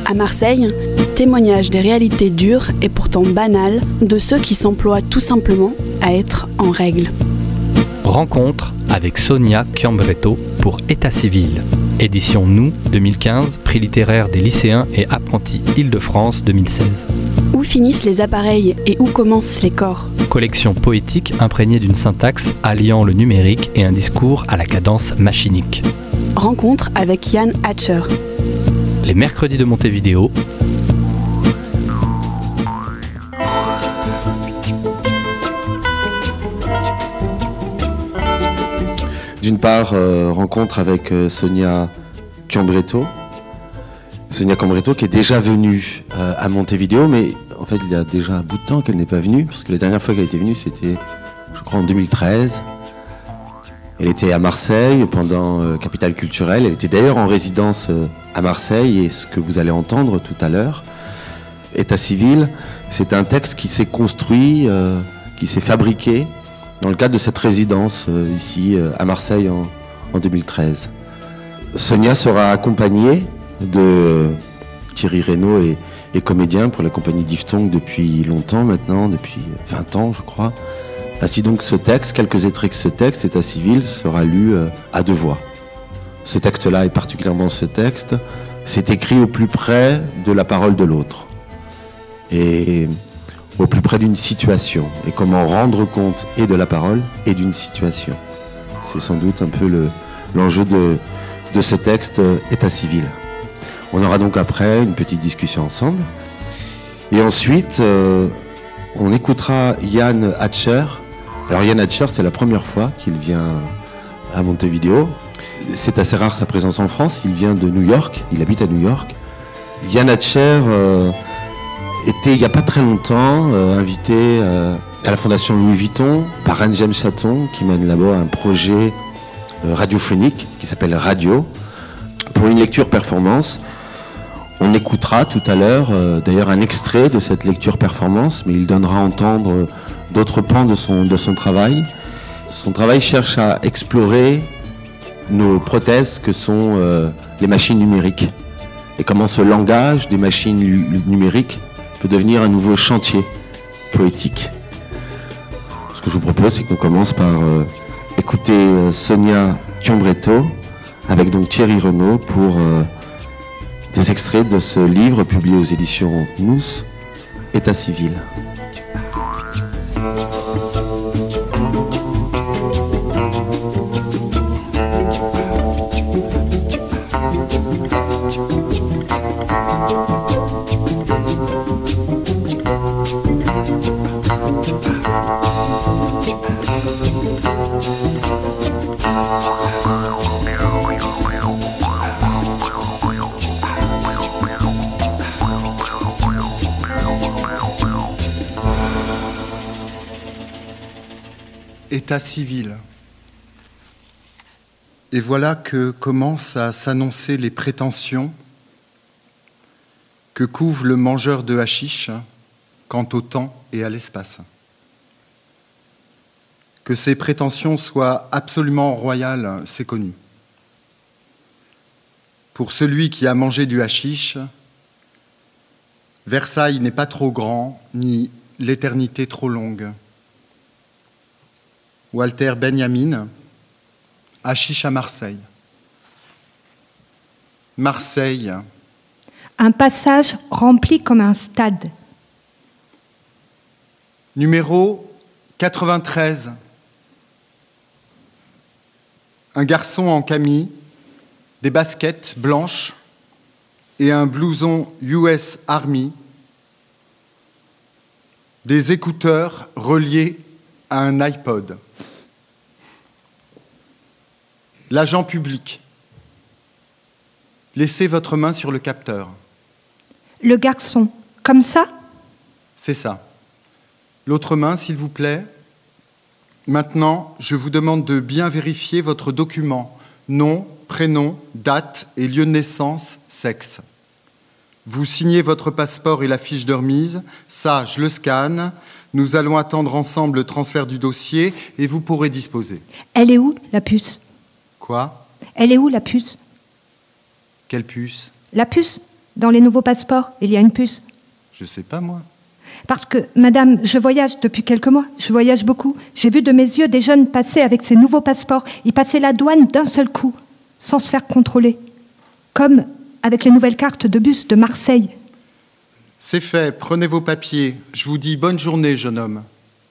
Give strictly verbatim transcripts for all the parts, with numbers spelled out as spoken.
À Marseille, témoignage des réalités dures et pourtant banales de ceux qui s'emploient tout simplement à être en règle. Rencontre avec Sonia Chiambretto pour État civil. Édition Nous deux mille quinze, prix littéraire des lycéens et apprentis Île-de-France deux mille seize. Où finissent les appareils et où commencent les corps ? Collection poétique imprégnée d'une syntaxe alliant le numérique et un discours à la cadence machinique. Rencontre avec Yann Hatcher. Les mercredis de Montevideo. D'une part, euh, rencontre avec euh, Sonia Chiambretto. Sonia Chiambretto qui est déjà venue euh, à Montevideo, mais en fait il y a déjà un bout de temps qu'elle n'est pas venue, parce que la dernière fois qu'elle était venue c'était, je crois, en deux mille treize. Elle était à Marseille pendant euh, Capitale Culturelle, elle était d'ailleurs en résidence euh, à Marseille, et ce que vous allez entendre tout à l'heure, État civil, c'est un texte qui s'est construit, euh, qui s'est fabriqué, dans le cadre de cette résidence euh, ici euh, à Marseille en, en deux mille treize. Sonia sera accompagnée de euh, Thierry Reynaud et, et comédien pour la compagnie Diphtongue depuis longtemps maintenant, depuis vingt ans je crois. Ainsi donc ce texte, quelques extraits de ce texte, État civil, sera lu euh, à deux voix. Ce texte-là, et particulièrement ce texte, c'est écrit au plus près de la parole de l'autre. Et au plus près d'une situation, et comment rendre compte et de la parole et d'une situation. C'est sans doute un peu le, l'enjeu de, de ce texte euh, État civil. On aura donc après une petite discussion ensemble. Et ensuite, euh, on écoutera Yann Hatcher. Alors Yann Hatcher, c'est la première fois qu'il vient à Montevideo. C'est assez rare sa présence en France, il vient de New York, il habite à New York. Yann Hatcher euh, était il n'y a pas très longtemps euh, invité euh, à la Fondation Louis Vuitton par Anne-James Chaton qui mène là-bas un projet euh, radiophonique qui s'appelle Radio pour une lecture performance. On écoutera tout à l'heure euh, d'ailleurs un extrait de cette lecture performance, mais il donnera à entendre euh, d'autres pans de son, de son travail. Son travail cherche à explorer nos prothèses que sont euh, les machines numériques et comment ce langage des machines lu- numériques peut devenir un nouveau chantier poétique. Ce que je vous propose, c'est qu'on commence par euh, écouter euh, Sonia Chiambretto avec donc Thierry Reynaud pour euh, des extraits de ce livre publié aux éditions Nous, État civil. État civil. Et voilà que commencent à s'annoncer les prétentions que couvre le mangeur de hashish quant au temps et à l'espace. Que ces prétentions soient absolument royales, c'est connu. Pour celui qui a mangé du hashish, Versailles n'est pas trop grand, ni l'éternité trop longue. Walter Benjamin, hashish à Marseille. Marseille. Un passage rempli comme un stade. Numéro quatre-vingt-treize. Un garçon en camis, des baskets blanches et un blouson U S Army, des écouteurs reliés à un iPod. L'agent public. Laissez votre main sur le capteur. Le garçon, comme ça ? C'est ça. L'autre main, s'il vous plaît. Maintenant, je vous demande de bien vérifier votre document. Nom, prénom, date et lieu de naissance, sexe. Vous signez votre passeport et la fiche de remise. Ça, je le scanne. Nous allons attendre ensemble le transfert du dossier et vous pourrez disposer. Elle est où, la puce ? Quoi ? Elle est où, la puce ? Quelle puce ? La puce ? Dans les nouveaux passeports, il y a une puce. Je sais pas, moi. Parce que, madame, je voyage depuis quelques mois, je voyage beaucoup. J'ai vu de mes yeux des jeunes passer avec ces nouveaux passeports. Ils passaient la douane d'un seul coup, sans se faire contrôler. Comme avec les nouvelles cartes de bus de Marseille. C'est fait, prenez vos papiers. Je vous dis bonne journée, jeune homme.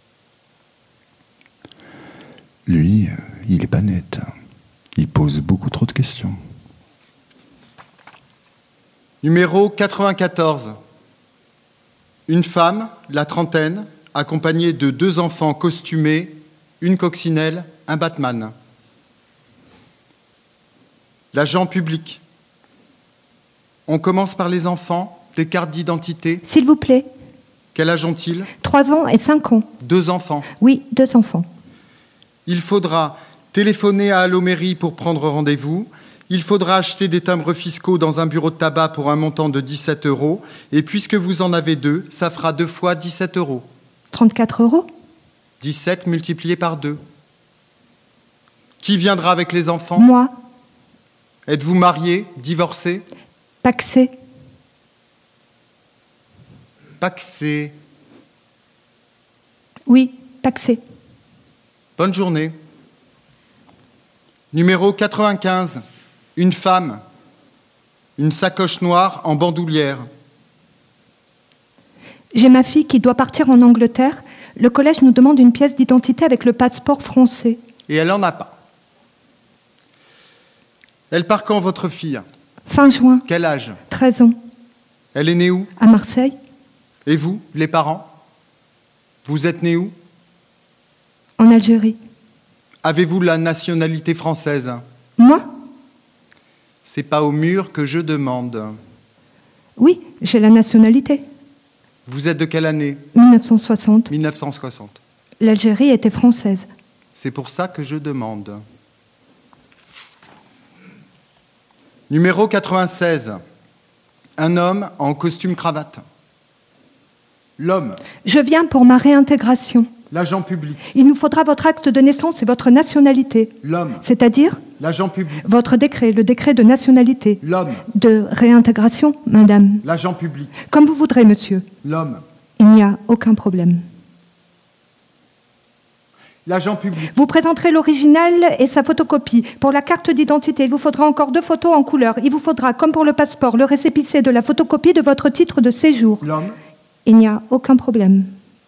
Lui, il est pas net. Il pose beaucoup trop de questions. Numéro quatre-vingt-quatorze. Une femme, la trentaine, accompagnée de deux enfants costumés, une coccinelle, un Batman. L'agent public. On commence par les enfants, des cartes d'identité. S'il vous plaît. Quel âge ont-ils? Trois ans et cinq ans. Deux enfants. Oui, deux enfants. Il faudra téléphoner à Allo Mairie pour prendre rendez-vous. Il faudra acheter des timbres fiscaux dans un bureau de tabac pour un montant de dix-sept euros. Et puisque vous en avez deux, ça fera deux fois dix-sept euros. trente-quatre euros. dix-sept multiplié par deux. Qui viendra avec les enfants? Moi. Êtes-vous marié, divorcé? Paxé. Paxé. Oui, paxé. Bonne journée. Numéro quatre-vingt-quinze. Une femme. Une sacoche noire en bandoulière. J'ai ma fille qui doit partir en Angleterre. Le collège nous demande une pièce d'identité avec le passeport français. Et elle n'en a pas. Elle part quand, votre fille? Fin juin. Quel âge? treize ans. Elle est née où? À Marseille. Et vous, les parents? Vous êtes nés où? En Algérie. Avez-vous la nationalité française? Moi? C'est pas au mur que je demande. Oui, j'ai la nationalité. Vous êtes de quelle année? mille neuf cent soixante. mille neuf cent soixante. L'Algérie était française. C'est pour ça que je demande. Numéro quatre-vingt-seize. Un homme en costume cravate. L'homme. Je viens pour ma réintégration. L'agent public. Il nous faudra votre acte de naissance et votre nationalité. L'homme. C'est-à-dire L'agent public. votre décret, le décret de nationalité. L'homme. De réintégration, madame. L'agent public. Comme vous voudrez, monsieur. L'homme. Il n'y a aucun problème. L'agent public. Vous présenterez l'original et sa photocopie. Pour la carte d'identité, il vous faudra encore deux photos en couleur. Il vous faudra, comme pour le passeport, le récépissé de la photocopie de votre titre de séjour. L'homme. Il n'y a aucun problème.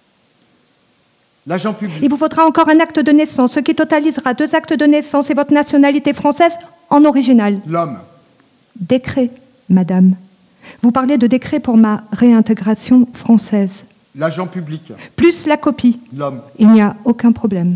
L'agent public. Il vous faudra encore un acte de naissance, ce qui totalisera deux actes de naissance et votre nationalité française en original. L'homme. Décret, madame. Vous parlez de décret pour ma réintégration française. L'agent public. Plus la copie. L'homme. Il n'y a aucun problème.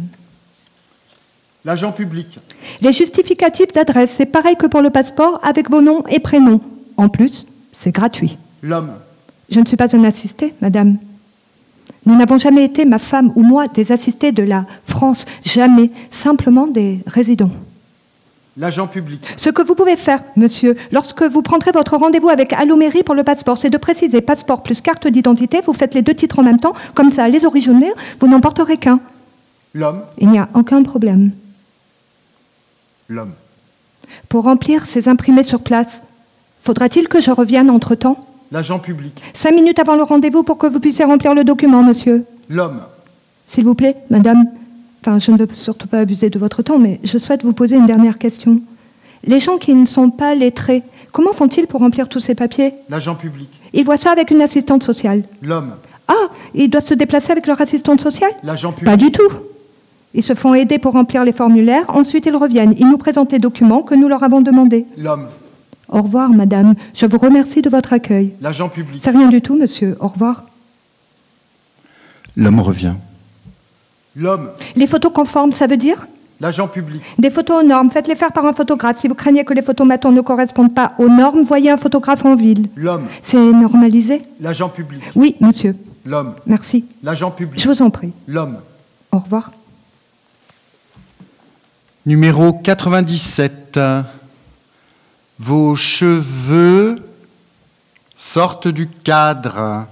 L'agent public. Les justificatifs d'adresse, c'est pareil que pour le passeport, avec vos noms et prénoms. En plus, c'est gratuit. L'homme. Je ne suis pas un assisté, madame. Nous n'avons jamais été, ma femme ou moi, des assistés de la France. Jamais. Simplement des résidents. L'agent public. Ce que vous pouvez faire, monsieur, lorsque vous prendrez votre rendez-vous avec Allo Mairie pour le passeport, c'est de préciser passeport plus carte d'identité. Vous faites les deux titres en même temps. Comme ça, les originaux, vous n'en porterez qu'un. L'homme. Il n'y a aucun problème. L'homme. Pour remplir ces imprimés sur place, faudra-t-il que je revienne entre-temps? L'agent public. Cinq minutes avant le rendez-vous pour que vous puissiez remplir le document, monsieur. L'homme. S'il vous plaît, madame. Enfin, je ne veux surtout pas abuser de votre temps, mais je souhaite vous poser une dernière question. Les gens qui ne sont pas lettrés, comment font-ils pour remplir tous ces papiers? L'agent public. Ils voient ça avec une assistante sociale. L'homme. Ah, ils doivent se déplacer avec leur assistante sociale? L'agent public. Pas du tout. Ils se font aider pour remplir les formulaires, ensuite ils reviennent. Ils nous présentent les documents que nous leur avons demandés. L'homme. Au revoir, madame. Je vous remercie de votre accueil. L'agent public. C'est rien du tout, monsieur. Au revoir. L'homme revient. L'homme. Les photos conformes, ça veut dire? L'agent public. Des photos aux normes, faites-les faire par un photographe. Si vous craignez que les photos matons ne correspondent pas aux normes, voyez un photographe en ville. L'homme. C'est normalisé? L'agent public. Oui, monsieur. L'homme. Merci. L'agent public. Je vous en prie. L'homme. Au revoir. Numéro quatre-vingt-dix-sept. Vos cheveux sortent du cadre.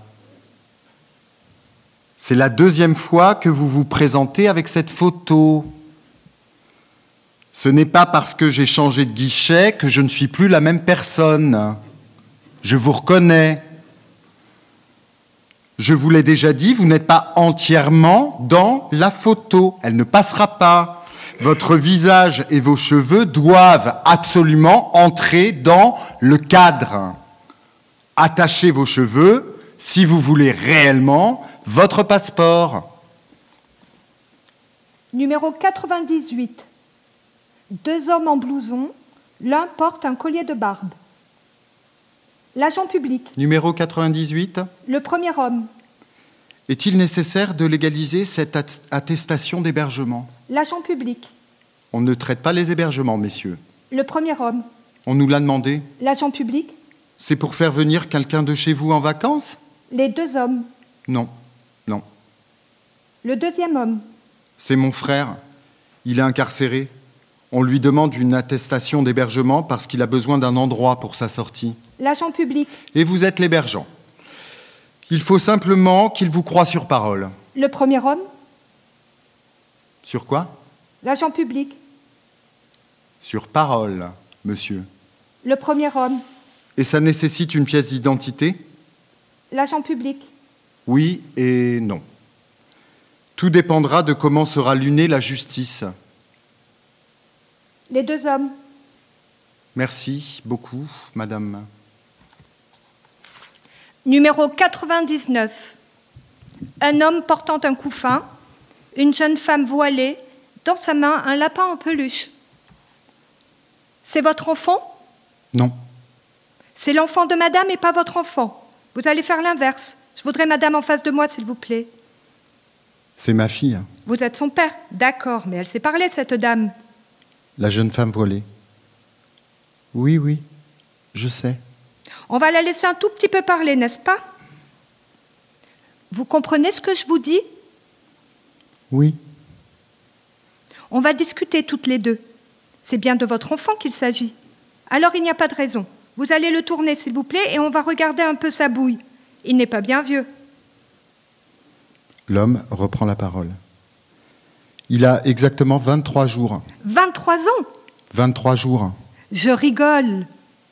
C'est la deuxième fois que vous vous présentez avec cette photo. Ce n'est pas parce que j'ai changé de guichet que je ne suis plus la même personne. Je vous reconnais. Je vous l'ai déjà dit, vous n'êtes pas entièrement dans la photo. Elle ne passera pas. Votre visage et vos cheveux doivent absolument entrer dans le cadre. Attachez vos cheveux si vous voulez réellement votre passeport. Numéro quatre-vingt-dix-huit. Deux hommes en blouson, l'un porte un collier de barbe. L'agent public. Numéro quatre-vingt-dix-huit. Le premier homme. Est-il nécessaire de légaliser cette attestation d'hébergement? L'agent public. On ne traite pas les hébergements, messieurs. Le premier homme. On nous l'a demandé. L'agent public. C'est pour faire venir quelqu'un de chez vous en vacances? Les deux hommes. Non, non. Le deuxième homme. C'est mon frère. Il est incarcéré. On lui demande une attestation d'hébergement parce qu'il a besoin d'un endroit pour sa sortie. L'agent public. Et vous êtes l'hébergeant. Il faut simplement qu'il vous croie sur parole. Le premier homme. Sur quoi? L'agent public. Sur parole, monsieur. Le premier homme. Et ça nécessite une pièce d'identité? L'agent public. Oui et non. Tout dépendra de comment sera lunée la justice. Les deux hommes. Merci beaucoup, madame. Numéro quatre-vingt-dix-neuf. Un homme portant un couffin, une jeune femme voilée, dans sa main un lapin en peluche. C'est votre enfant? Non. C'est l'enfant de madame et pas votre enfant. Vous allez faire l'inverse. Je voudrais madame en face de moi, s'il vous plaît. C'est ma fille. Vous êtes son père? D'accord, mais elle sait parler, cette dame. La jeune femme voilée. Oui, oui, je sais. On va la laisser un tout petit peu parler, n'est-ce pas? Vous comprenez ce que je vous dis? Oui. On va discuter toutes les deux. C'est bien de votre enfant qu'il s'agit. Alors il n'y a pas de raison. Vous allez le tourner, s'il vous plaît, et on va regarder un peu sa bouille. Il n'est pas bien vieux. L'homme reprend la parole. Il a exactement vingt-trois jours. vingt-trois ans? vingt-trois jours. Je rigole.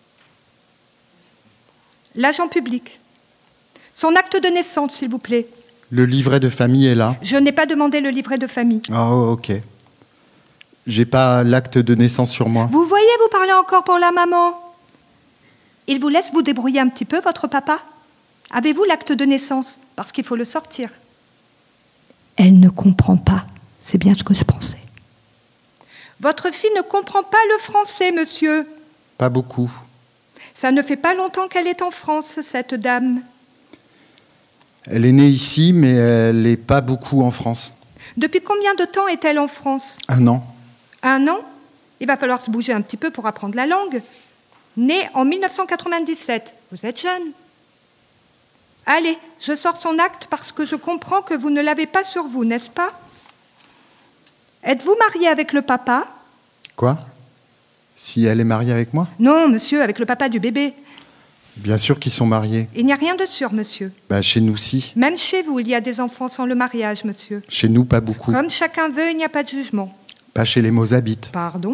L'agent public. Son acte de naissance, s'il vous plaît. Le livret de famille est là. Je n'ai pas demandé le livret de famille. Oh, ok. J'ai pas l'acte de naissance sur moi. Vous voyez, vous parlez encore pour la maman. Il vous laisse vous débrouiller un petit peu, votre papa? Avez-vous l'acte de naissance? Parce qu'il faut le sortir. Elle ne comprend pas. C'est bien ce que je pensais. Votre fille ne comprend pas le français, monsieur. Pas beaucoup. Ça ne fait pas longtemps qu'elle est en France, cette dame. Elle est née ici, mais elle n'est pas beaucoup en France. Depuis combien de temps est-elle en France? Un an. Un an? Il va falloir se bouger un petit peu pour apprendre la langue. Née en mille neuf cent quatre-vingt-dix-sept. Vous êtes jeune. Allez, je sors son acte parce que je comprends que vous ne l'avez pas sur vous, n'est-ce pas? Êtes-vous marié avec le papa? Quoi? Si elle est mariée avec moi? Non, monsieur, avec le papa du bébé. Bien sûr qu'ils sont mariés. Il n'y a rien de sûr, monsieur. Bah, chez nous, si. Même chez vous, il y a des enfants sans le mariage, monsieur. Chez nous, pas beaucoup. Comme chacun veut, il n'y a pas de jugement. Pas chez les Mozabites. Pardon?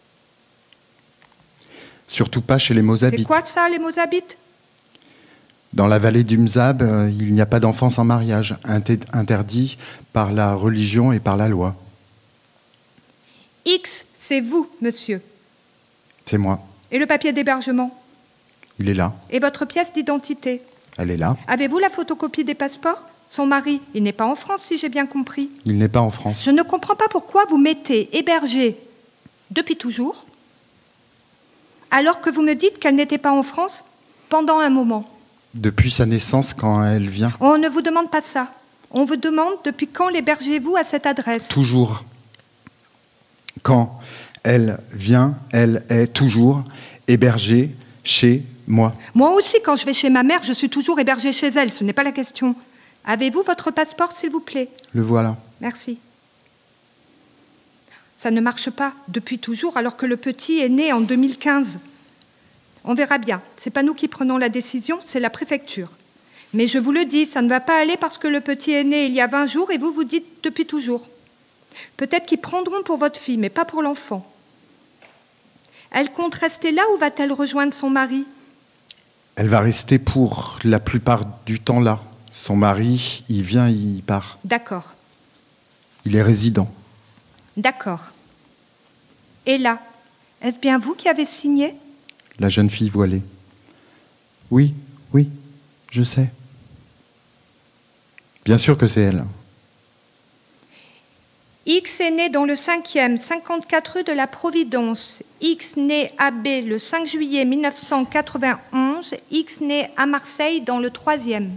Surtout pas chez les Mozabites. C'est quoi ça, les Mozabites? Dans la vallée du Mzab, euh, il n'y a pas d'enfants sans mariage, inter- interdit par la religion et par la loi. X, c'est vous, monsieur. C'est moi. Et le papier d'hébergement? Il est là. Et votre pièce d'identité? Elle est là. Avez-vous la photocopie des passeports? Son mari, il n'est pas en France, si j'ai bien compris. Il n'est pas en France. Je ne comprends pas pourquoi vous mettez hébergé depuis toujours, alors que vous me dites qu'elle n'était pas en France pendant un moment. Depuis sa naissance, quand elle vient. On ne vous demande pas ça. On vous demande depuis quand l'hébergez-vous à cette adresse? Toujours. Quand elle vient, elle est toujours hébergée chez moi. Moi aussi, quand je vais chez ma mère, je suis toujours hébergée chez elle. Ce n'est pas la question. Avez-vous votre passeport, s'il vous plaît? Le voilà. Merci. Ça ne marche pas depuis toujours, alors que le petit est né en deux mille quinze. On verra bien. Ce n'est pas nous qui prenons la décision, c'est la préfecture. Mais je vous le dis, ça ne va pas aller parce que le petit est né il y a vingt jours et vous vous dites depuis toujours. Peut-être qu'ils prendront pour votre fille, mais pas pour l'enfant. Elle compte rester là ou va-t-elle rejoindre son mari? Elle va rester pour la plupart du temps là. Son mari, il vient, il part. D'accord, Il est résident. d'accord. Et là, est-ce bien vous qui avez signé ? La jeune fille voilée. Oui, oui, je sais. Bien sûr que c'est elle. X est né dans le cinquième, cinquante-quatre rue de la Providence. X né à B le cinq juillet mille neuf cent quatre-vingt-onze. X né à Marseille dans le troisième.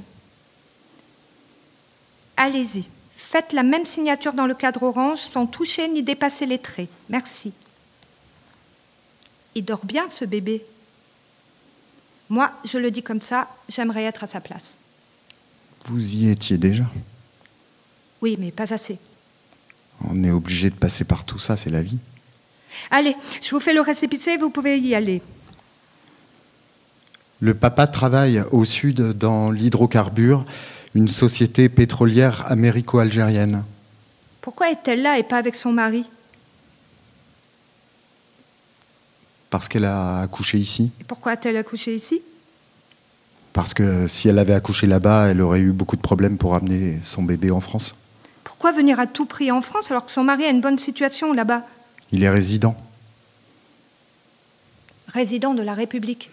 Allez-y, faites la même signature dans le cadre orange sans toucher ni dépasser les traits. Merci. Il dort bien, ce bébé. Moi, je le dis comme ça, j'aimerais être à sa place. Vous y étiez déjà. Oui, mais pas assez. On est obligé de passer par tout ça, c'est la vie. Allez, je vous fais le récépissé, vous pouvez y aller. Le papa travaille au sud dans l'hydrocarbure, une société pétrolière américo-algérienne. Pourquoi est-elle là et pas avec son mari ? Parce qu'elle a accouché ici. Et pourquoi a-t-elle accouché ici ? Parce que si elle avait accouché là-bas, elle aurait eu beaucoup de problèmes pour amener son bébé en France. Pourquoi venir à tout prix en France alors que son mari a une bonne situation là-bas ? Il est résident. Résident de la République.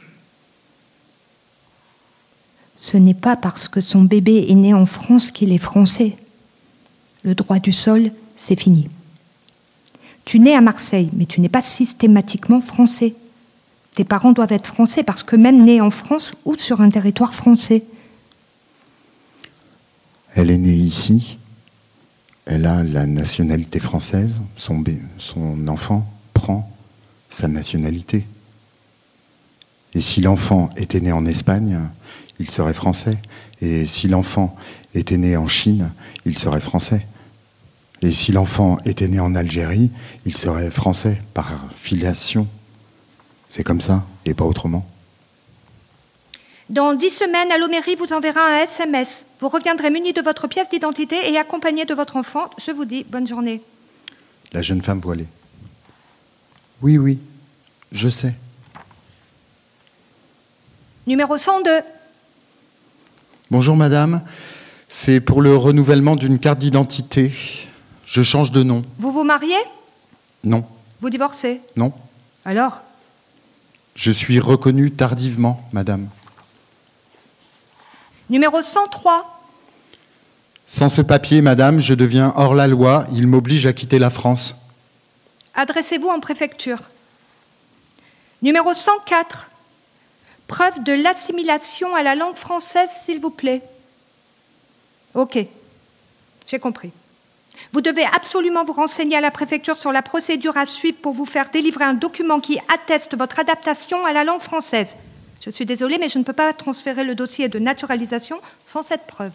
Ce n'est pas parce que son bébé est né en France qu'il est français. Le droit du sol, c'est fini. Tu nais à Marseille, mais tu n'es pas systématiquement français. Tes parents doivent être français parce que même nés en France ou sur un territoire français. Elle est née ici. Elle a la nationalité française. Son, bé- son enfant prend sa nationalité. Et si l'enfant était né en Espagne, il serait français. Et si l'enfant était né en Chine, il serait français. Et si l'enfant était né en Algérie, il serait français par filiation. C'est comme ça, et pas autrement. Dans dix semaines, Alloméry vous enverra un S M S. Vous reviendrez muni de votre pièce d'identité et accompagné de votre enfant. Je vous dis bonne journée. La jeune femme voilée. Oui, oui, je sais. Numéro cent deux. Bonjour madame, c'est pour le renouvellement d'une carte d'identité. Je change de nom. Vous vous mariez ? Non, Vous divorcez ? non. Alors ? Je suis reconnu tardivement, madame. Numéro cent trois. Sans ce papier, madame, je deviens hors la loi. Il m'oblige à quitter la France. Adressez-vous en préfecture. Numéro cent quatre. Preuve de l'assimilation à la langue française, s'il vous plaît. Ok, j'ai compris. Vous devez absolument vous renseigner à la préfecture sur la procédure à suivre pour vous faire délivrer un document qui atteste votre adaptation à la langue française. Je suis désolée, mais je ne peux pas transférer le dossier de naturalisation sans cette preuve.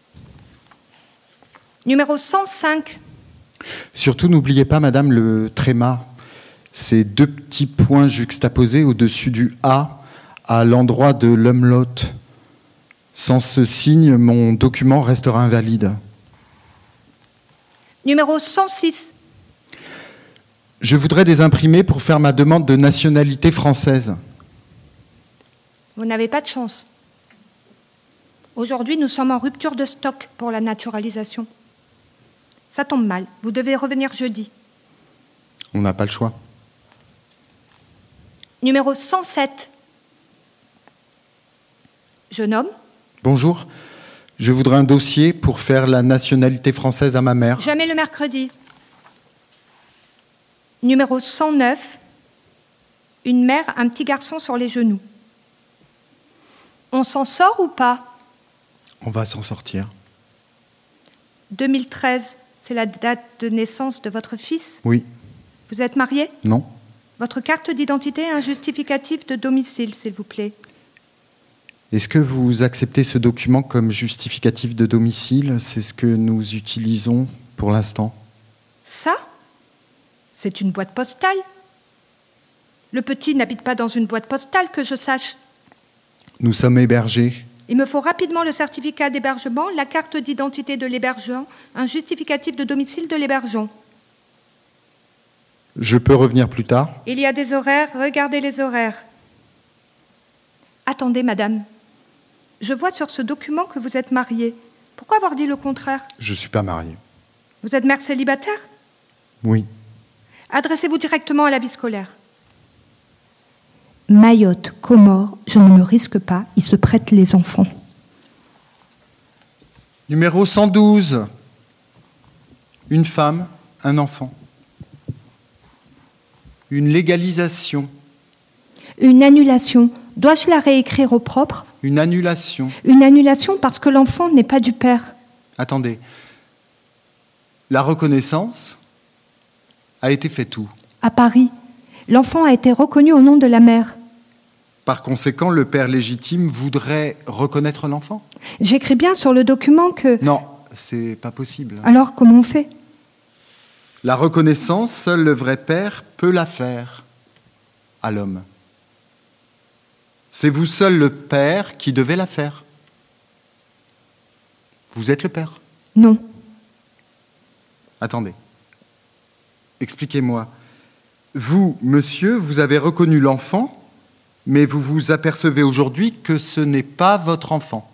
Numéro cent cinq. Surtout, n'oubliez pas, madame, le tréma. Ces deux petits points juxtaposés au-dessus du A à l'endroit de l'umlaut. Sans ce signe, mon document restera invalide. Numéro cent six. Je voudrais des imprimés pour faire ma demande de nationalité française. Vous n'avez pas de chance. Aujourd'hui, nous sommes en rupture de stock pour la naturalisation. Ça tombe mal. Vous devez revenir jeudi. On n'a pas le choix. Numéro cent sept. Jeune homme. Bonjour, je voudrais un dossier pour faire la nationalité française à ma mère. Jamais le mercredi. Numéro cent neuf. Une mère, un petit garçon sur les genoux. On s'en sort ou pas ? On va s'en sortir. deux mille treize, c'est la date de naissance de votre fils ? Oui, Vous êtes marié ? non. Votre carte d'identité et un justificatif de domicile, s'il vous plaît. Est-ce que vous acceptez ce document comme justificatif de domicile ? C'est ce que nous utilisons pour l'instant. Ça ? C'est une boîte postale. Le petit n'habite pas dans une boîte postale, que je sache. Nous sommes hébergés. Il me faut rapidement le certificat d'hébergement, la carte d'identité de l'hébergeant, un justificatif de domicile de l'hébergeant. Je peux revenir plus tard ? Il y a des horaires, regardez les horaires. À Attendez, madame. Je vois sur ce document que vous êtes mariée. Pourquoi avoir dit le contraire? Je ne suis pas marié. Vous êtes mère célibataire? Oui. Adressez-vous directement à la vie scolaire. Mayotte, Comores, je ne me risque pas, ils se prêtent les enfants. Numéro cent douze. Une femme, un enfant. Une légalisation. Une annulation. Dois-je la réécrire au propre? Une annulation. Une annulation parce que l'enfant n'est pas du père. Attendez. La reconnaissance a été faite où? À Paris. L'enfant a été reconnu au nom de la mère. Par conséquent, le père légitime voudrait reconnaître l'enfant? J'écris bien sur le document que... Non, c'est pas possible. Alors, comment on fait? La reconnaissance, seul le vrai père peut la faire à l'homme. C'est vous seul le père qui devez la faire. Vous êtes le père? Non. Attendez. Expliquez-moi. Vous, monsieur, vous avez reconnu l'enfant, mais vous vous apercevez aujourd'hui que ce n'est pas votre enfant.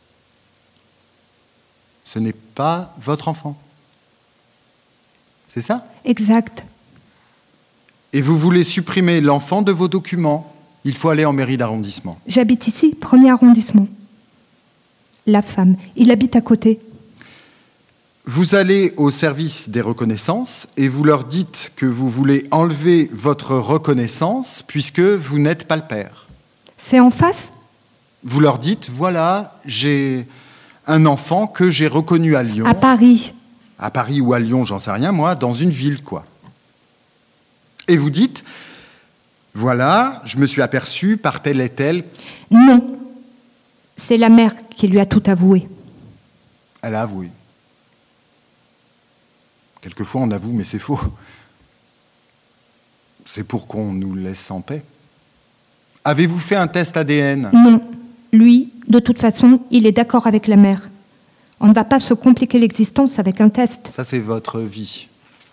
Ce n'est pas votre enfant. C'est ça? Exact. Et vous voulez supprimer l'enfant de vos documents. Il faut aller en mairie d'arrondissement. J'habite ici, premier arrondissement. La femme, il habite à côté. Vous allez au service des reconnaissances et vous leur dites que vous voulez enlever votre reconnaissance puisque vous n'êtes pas le père. C'est en face? Vous leur dites, voilà, j'ai un enfant que j'ai reconnu à Lyon. À Paris. À Paris ou à Lyon, j'en sais rien, moi, dans une ville, quoi. Et vous dites, voilà, je me suis aperçu par tel et tel. Non. C'est la mère qui lui a tout avoué. Elle a avoué. Quelquefois, on avoue, mais c'est faux. C'est pour qu'on nous laisse en paix. Avez-vous fait un test A D N? Non. Lui, de toute façon, il est d'accord avec la mère. On ne va pas se compliquer l'existence avec un test. Ça, c'est votre vie.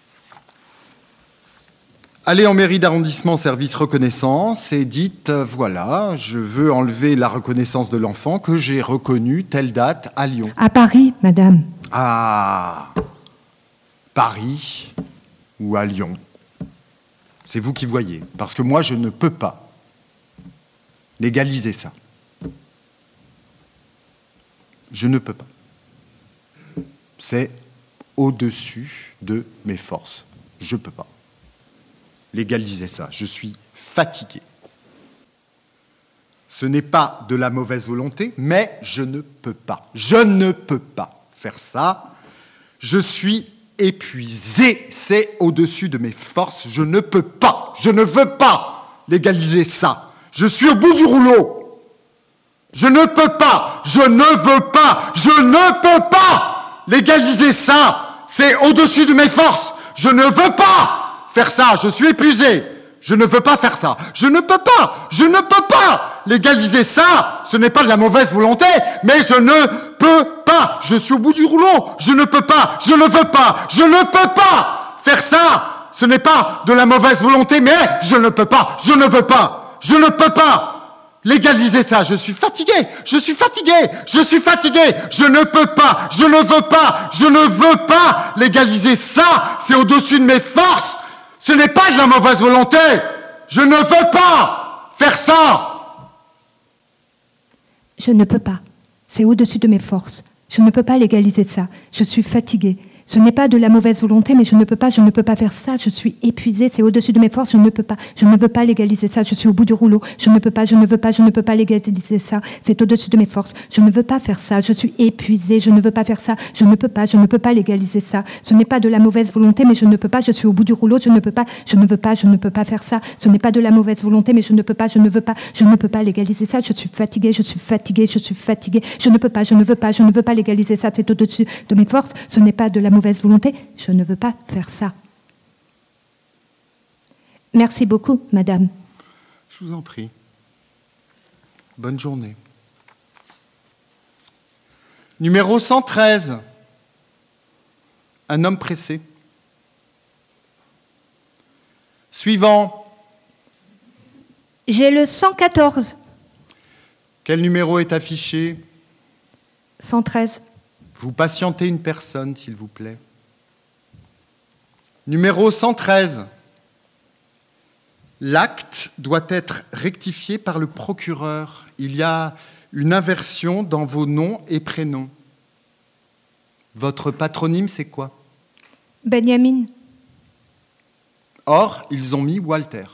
Allez en mairie d'arrondissement service reconnaissance et dites, euh, voilà, je veux enlever la reconnaissance de l'enfant que j'ai reconnu telle date à Lyon. À Paris, madame. À Paris ou à Lyon. C'est vous qui voyez, parce que moi, je ne peux pas légaliser ça. Je ne peux pas. C'est au-dessus de mes forces. Je ne peux pas légaliser ça. Je suis fatigué. Ce n'est pas de la mauvaise volonté, mais je ne peux pas. Je ne peux pas faire ça. Je suis épuisé. C'est au-dessus de mes forces. Je ne peux pas. Je ne veux pas légaliser ça. Je suis au bout du rouleau. Je ne peux pas. Je ne veux pas. Je ne peux pas légaliser ça. C'est au-dessus de mes forces. Je ne veux pas faire ça, je suis épuisé. Je ne veux pas faire ça. Je ne peux pas. Je ne peux pas légaliser ça. Ce n'est pas de la mauvaise volonté, mais je ne peux pas. Je suis au bout du rouleau. Je ne peux pas. Je ne veux pas. Je ne peux pas faire ça. Ce n'est pas de la mauvaise volonté, mais je ne peux pas. Je ne veux pas. Je ne peux pas légaliser ça. Je suis fatigué. Je suis fatigué. Je suis fatigué. Je ne peux pas. Je ne veux pas. Je ne veux pas légaliser ça. C'est au-dessus de mes forces. Ce n'est pas de la mauvaise volonté. Je ne veux pas faire ça. Je ne peux pas. C'est au-dessus de mes forces. Je ne peux pas légaliser ça. Je suis fatiguée. Ce n'est pas de la mauvaise volonté, mais je ne peux pas, je ne peux pas faire ça. Je suis épuisée, c'est au-dessus de mes forces, je ne peux pas. Je ne veux pas légaliser ça. Je suis au bout du rouleau. Je ne peux pas, je ne veux pas, je ne peux pas légaliser ça. C'est au-dessus de mes forces. Je ne veux pas faire ça. Je suis épuisée, je ne veux pas faire ça. Je ne peux pas, je ne peux pas légaliser ça. Ce n'est pas de la mauvaise volonté, mais je ne peux pas. Je suis au bout du rouleau. Je ne peux pas, je ne veux pas, je ne peux pas faire ça. Ce n'est pas de la mauvaise volonté, mais je ne peux pas, je ne veux pas, je ne peux pas légaliser ça. Je suis fatiguée, je suis fatiguée, je suis fatiguée. Je ne peux pas, je ne veux pas, je ne veux pas légaliser ça. C'est au-dessus de mes forces. Ce n'est pas de la mauvaise volonté, je ne veux pas faire ça. Merci beaucoup, madame. Je vous en prie. Bonne journée. Numéro cent treize. Un homme pressé. Suivant. J'ai le cent quatorze. Quel numéro est affiché? cent treize. Vous patientez une personne, s'il vous plaît. Numéro cent treize. L'acte doit être rectifié par le procureur. Il y a une inversion dans vos noms et prénoms. Votre patronyme, c'est quoi? Benjamin. Or, ils ont mis Walter.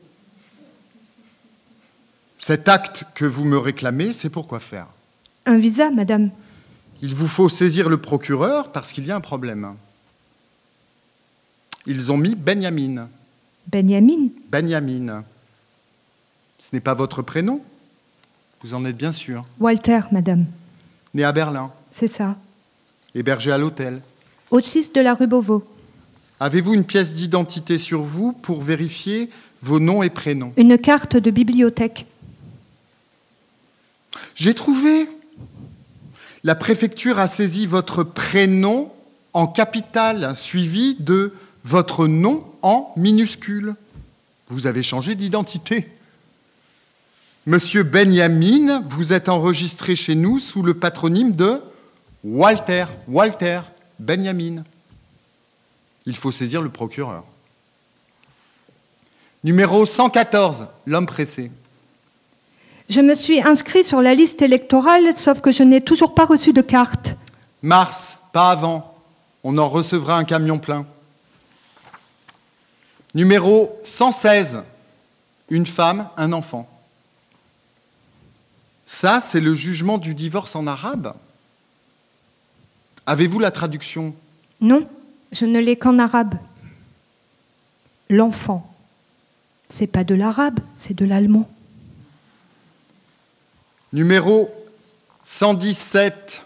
Cet acte que vous me réclamez, c'est pour quoi faire? Un visa, madame. Il vous faut saisir le procureur parce qu'il y a un problème. Ils ont mis Benjamin. Benjamin. Benjamin. Ce n'est pas votre prénom? Vous en êtes bien sûr. Walter, madame. Né à Berlin. C'est ça. Hébergé à l'hôtel. Au six de la rue Beauvau. Avez-vous une pièce d'identité sur vous pour vérifier vos noms et prénoms? Une carte de bibliothèque. J'ai trouvé. La préfecture a saisi votre prénom en capitale, suivi de votre nom en minuscule. Vous avez changé d'identité. Monsieur Benjamin, vous êtes enregistré chez nous sous le patronyme de Walter. Walter Benjamin. Il faut saisir le procureur. Numéro cent quatorze, l'homme pressé. Je me suis inscrit sur la liste électorale, sauf que je n'ai toujours pas reçu de carte. Mars, pas avant. On en recevra un camion plein. Numéro cent seize, une femme, un enfant. Ça, c'est le jugement du divorce en arabe. Avez-vous la traduction? Non, je ne l'ai qu'en arabe. L'enfant. C'est pas de l'arabe, c'est de l'allemand. Numéro cent dix-sept.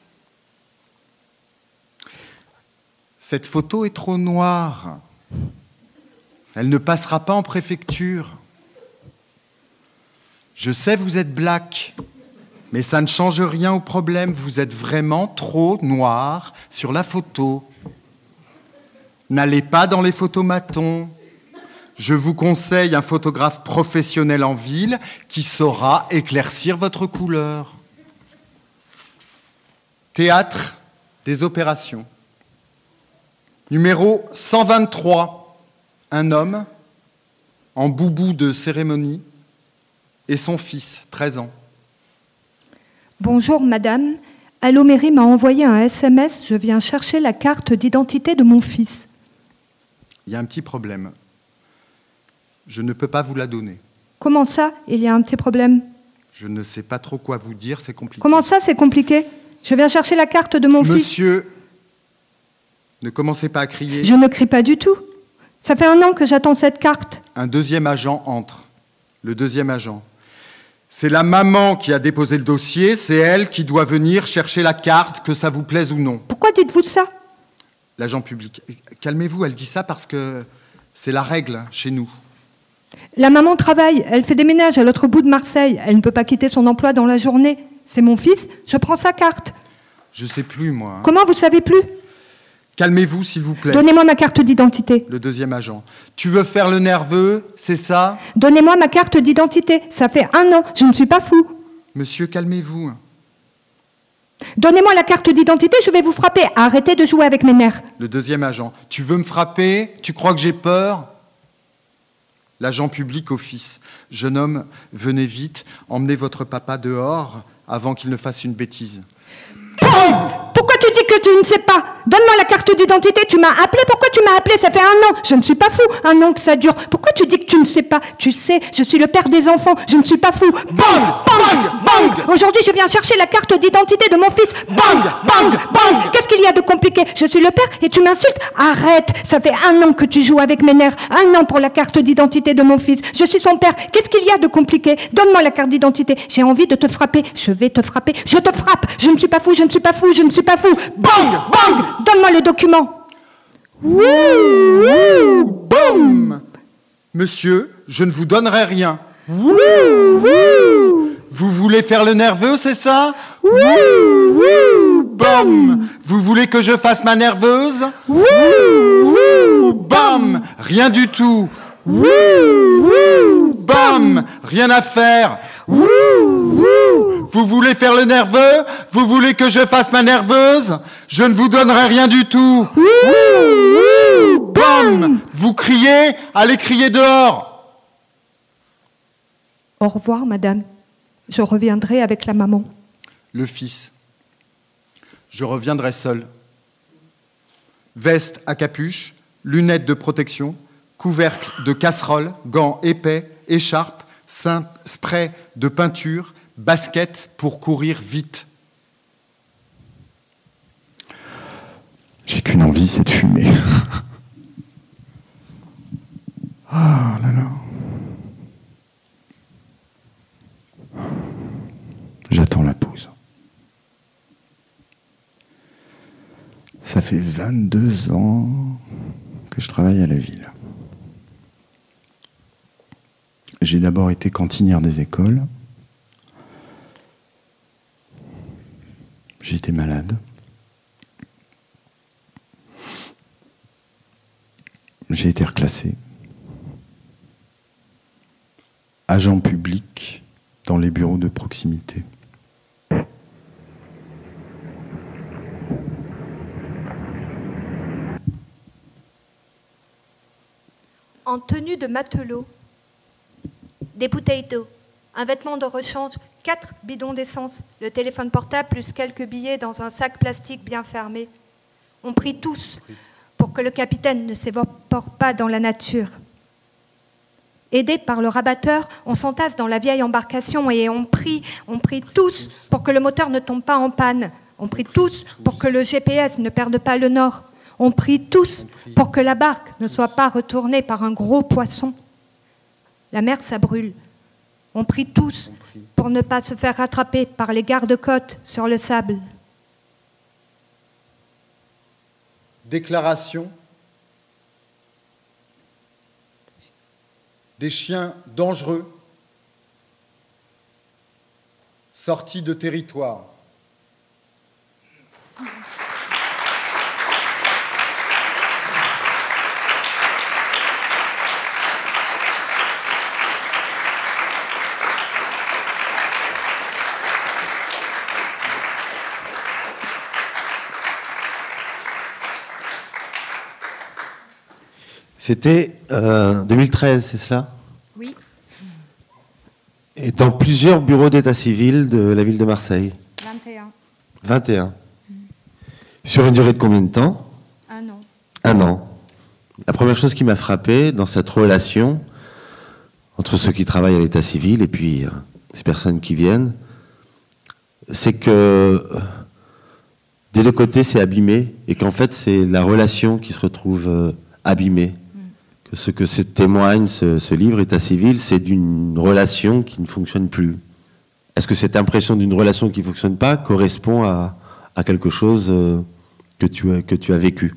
Cette photo est trop noire. Elle ne passera pas en préfecture. Je sais, vous êtes black, mais ça ne change rien au problème. Vous êtes vraiment trop noir sur la photo. N'allez pas dans les photomatons. Je vous conseille un photographe professionnel en ville qui saura éclaircir votre couleur. Théâtre des opérations. Numéro cent vingt-trois. Un homme en boubou de cérémonie et son fils, treize ans. Bonjour madame, Allo Mairie m'a envoyé un S M S, je viens chercher la carte d'identité de mon fils. Il y a un petit problème. Je ne peux pas vous la donner. Comment ça, il y a un petit problème? Je ne sais pas trop quoi vous dire, c'est compliqué. Comment ça, c'est compliqué? Je viens chercher la carte de mon fils. Monsieur, ne commencez pas à crier. Je ne crie pas du tout. Ça fait un an que j'attends cette carte. Un deuxième agent entre. Le deuxième agent. C'est la maman qui a déposé le dossier, c'est elle qui doit venir chercher la carte, que ça vous plaise ou non. Pourquoi dites-vous ça? L'agent public. Calmez-vous, elle dit ça parce que c'est la règle chez nous. La maman travaille, elle fait des ménages à l'autre bout de Marseille. Elle ne peut pas quitter son emploi dans la journée. C'est mon fils, je prends sa carte. Je sais plus, moi. Hein. Comment vous savez plus? Calmez-vous, s'il vous plaît. Donnez-moi ma carte d'identité. Le deuxième agent. Tu veux faire le nerveux, c'est ça? Donnez-moi ma carte d'identité. Ça fait un an, je ne suis pas fou. Monsieur, calmez-vous. Donnez-moi la carte d'identité, je vais vous frapper. Arrêtez de jouer avec mes nerfs. Le deuxième agent. Tu veux me frapper? Tu crois que j'ai peur? L'agent public au fils. Jeune homme, venez vite, emmenez votre papa dehors avant qu'il ne fasse une bêtise. Pourquoi tu dis que tu ne sais pas? Donne-moi la carte d'identité, tu m'as appelé, pourquoi tu m'as appelé? Ça fait un an, je ne suis pas fou, un an que ça dure. Pourquoi tu dis que tu ne sais pas? Tu sais, je suis le père des enfants, je ne suis pas fou. Bang, bang, bang. Aujourd'hui, je viens chercher la carte d'identité de mon fils. Bang, bang, bang. Qu'est-ce qu'il y a de compliqué? Je suis le père et tu m'insultes? Arrête, ça fait un an que tu joues avec mes nerfs, un an pour la carte d'identité de mon fils. Je suis son père, qu'est-ce qu'il y a de compliqué? Donne-moi la carte d'identité, j'ai envie de te frapper, je vais te frapper, je te frappe. Je ne suis pas fou, je ne suis pas fou, je ne suis pas fou. Bang, bang. Donne-moi le document. Wouh, wouh, boum. Monsieur, je ne vous donnerai rien. Wouh, wouh. Vous voulez faire le nerveux, c'est ça? Wouh, wouh, boum. Vous voulez que je fasse ma nerveuse? Wouh, wouh, bam. Rien du tout. Wouh, wouh, bam. Rien à faire. Wouh, wouh. Vous voulez faire le nerveux? Vous voulez que je fasse ma nerveuse? Je ne vous donnerai rien du tout. Bam! Vous criez? Allez crier dehors. Au revoir, madame. Je reviendrai avec la maman. Le fils. Je reviendrai seul. Veste à capuche, lunettes de protection, couvercle de casserole, gants épais, écharpe, spray de peinture, basket pour courir vite. J'ai qu'une envie, c'est de fumer. Ah là là. J'attends la pause. Ça fait vingt-deux ans que je travaille à la ville. J'ai d'abord été cantinière des écoles. J'ai été malade. J'ai été reclassé. Agent public dans les bureaux de proximité. En tenue de matelot, des bouteilles d'eau, un vêtement de rechange, quatre bidons d'essence, le téléphone portable plus quelques billets dans un sac plastique bien fermé. On prie tous pour que le capitaine ne s'évapore pas dans la nature. Aidés par le rabatteur, on s'entasse dans la vieille embarcation et on prie, on prie tous pour que le moteur ne tombe pas en panne. On prie tous pour que le G P S ne perde pas le nord. On prie tous pour que la barque ne soit pas retournée par un gros poisson. La mer, ça brûle. On prie tous pour ne pas se faire rattraper par les gardes-côtes sur le sable. Déclaration. Des chiens dangereux sortis de territoire. C'était euh, deux mille treize, c'est cela? Oui. Et dans plusieurs bureaux d'état civil de la ville de Marseille? vingt et un. vingt et un. Mmh. Sur une durée de combien de temps? Un an. Un an. La première chose qui m'a frappé dans cette relation entre ceux qui travaillent à l'état civil et puis euh, ces personnes qui viennent, c'est que euh, des deux côtés c'est abîmé et qu'en fait c'est la relation qui se retrouve euh, abîmée. Que ce que ce témoigne, ce, ce livre, État civil, c'est d'une relation qui ne fonctionne plus. Est-ce que cette impression d'une relation qui ne fonctionne pas correspond à, à quelque chose euh, que, tu as, que tu as vécu?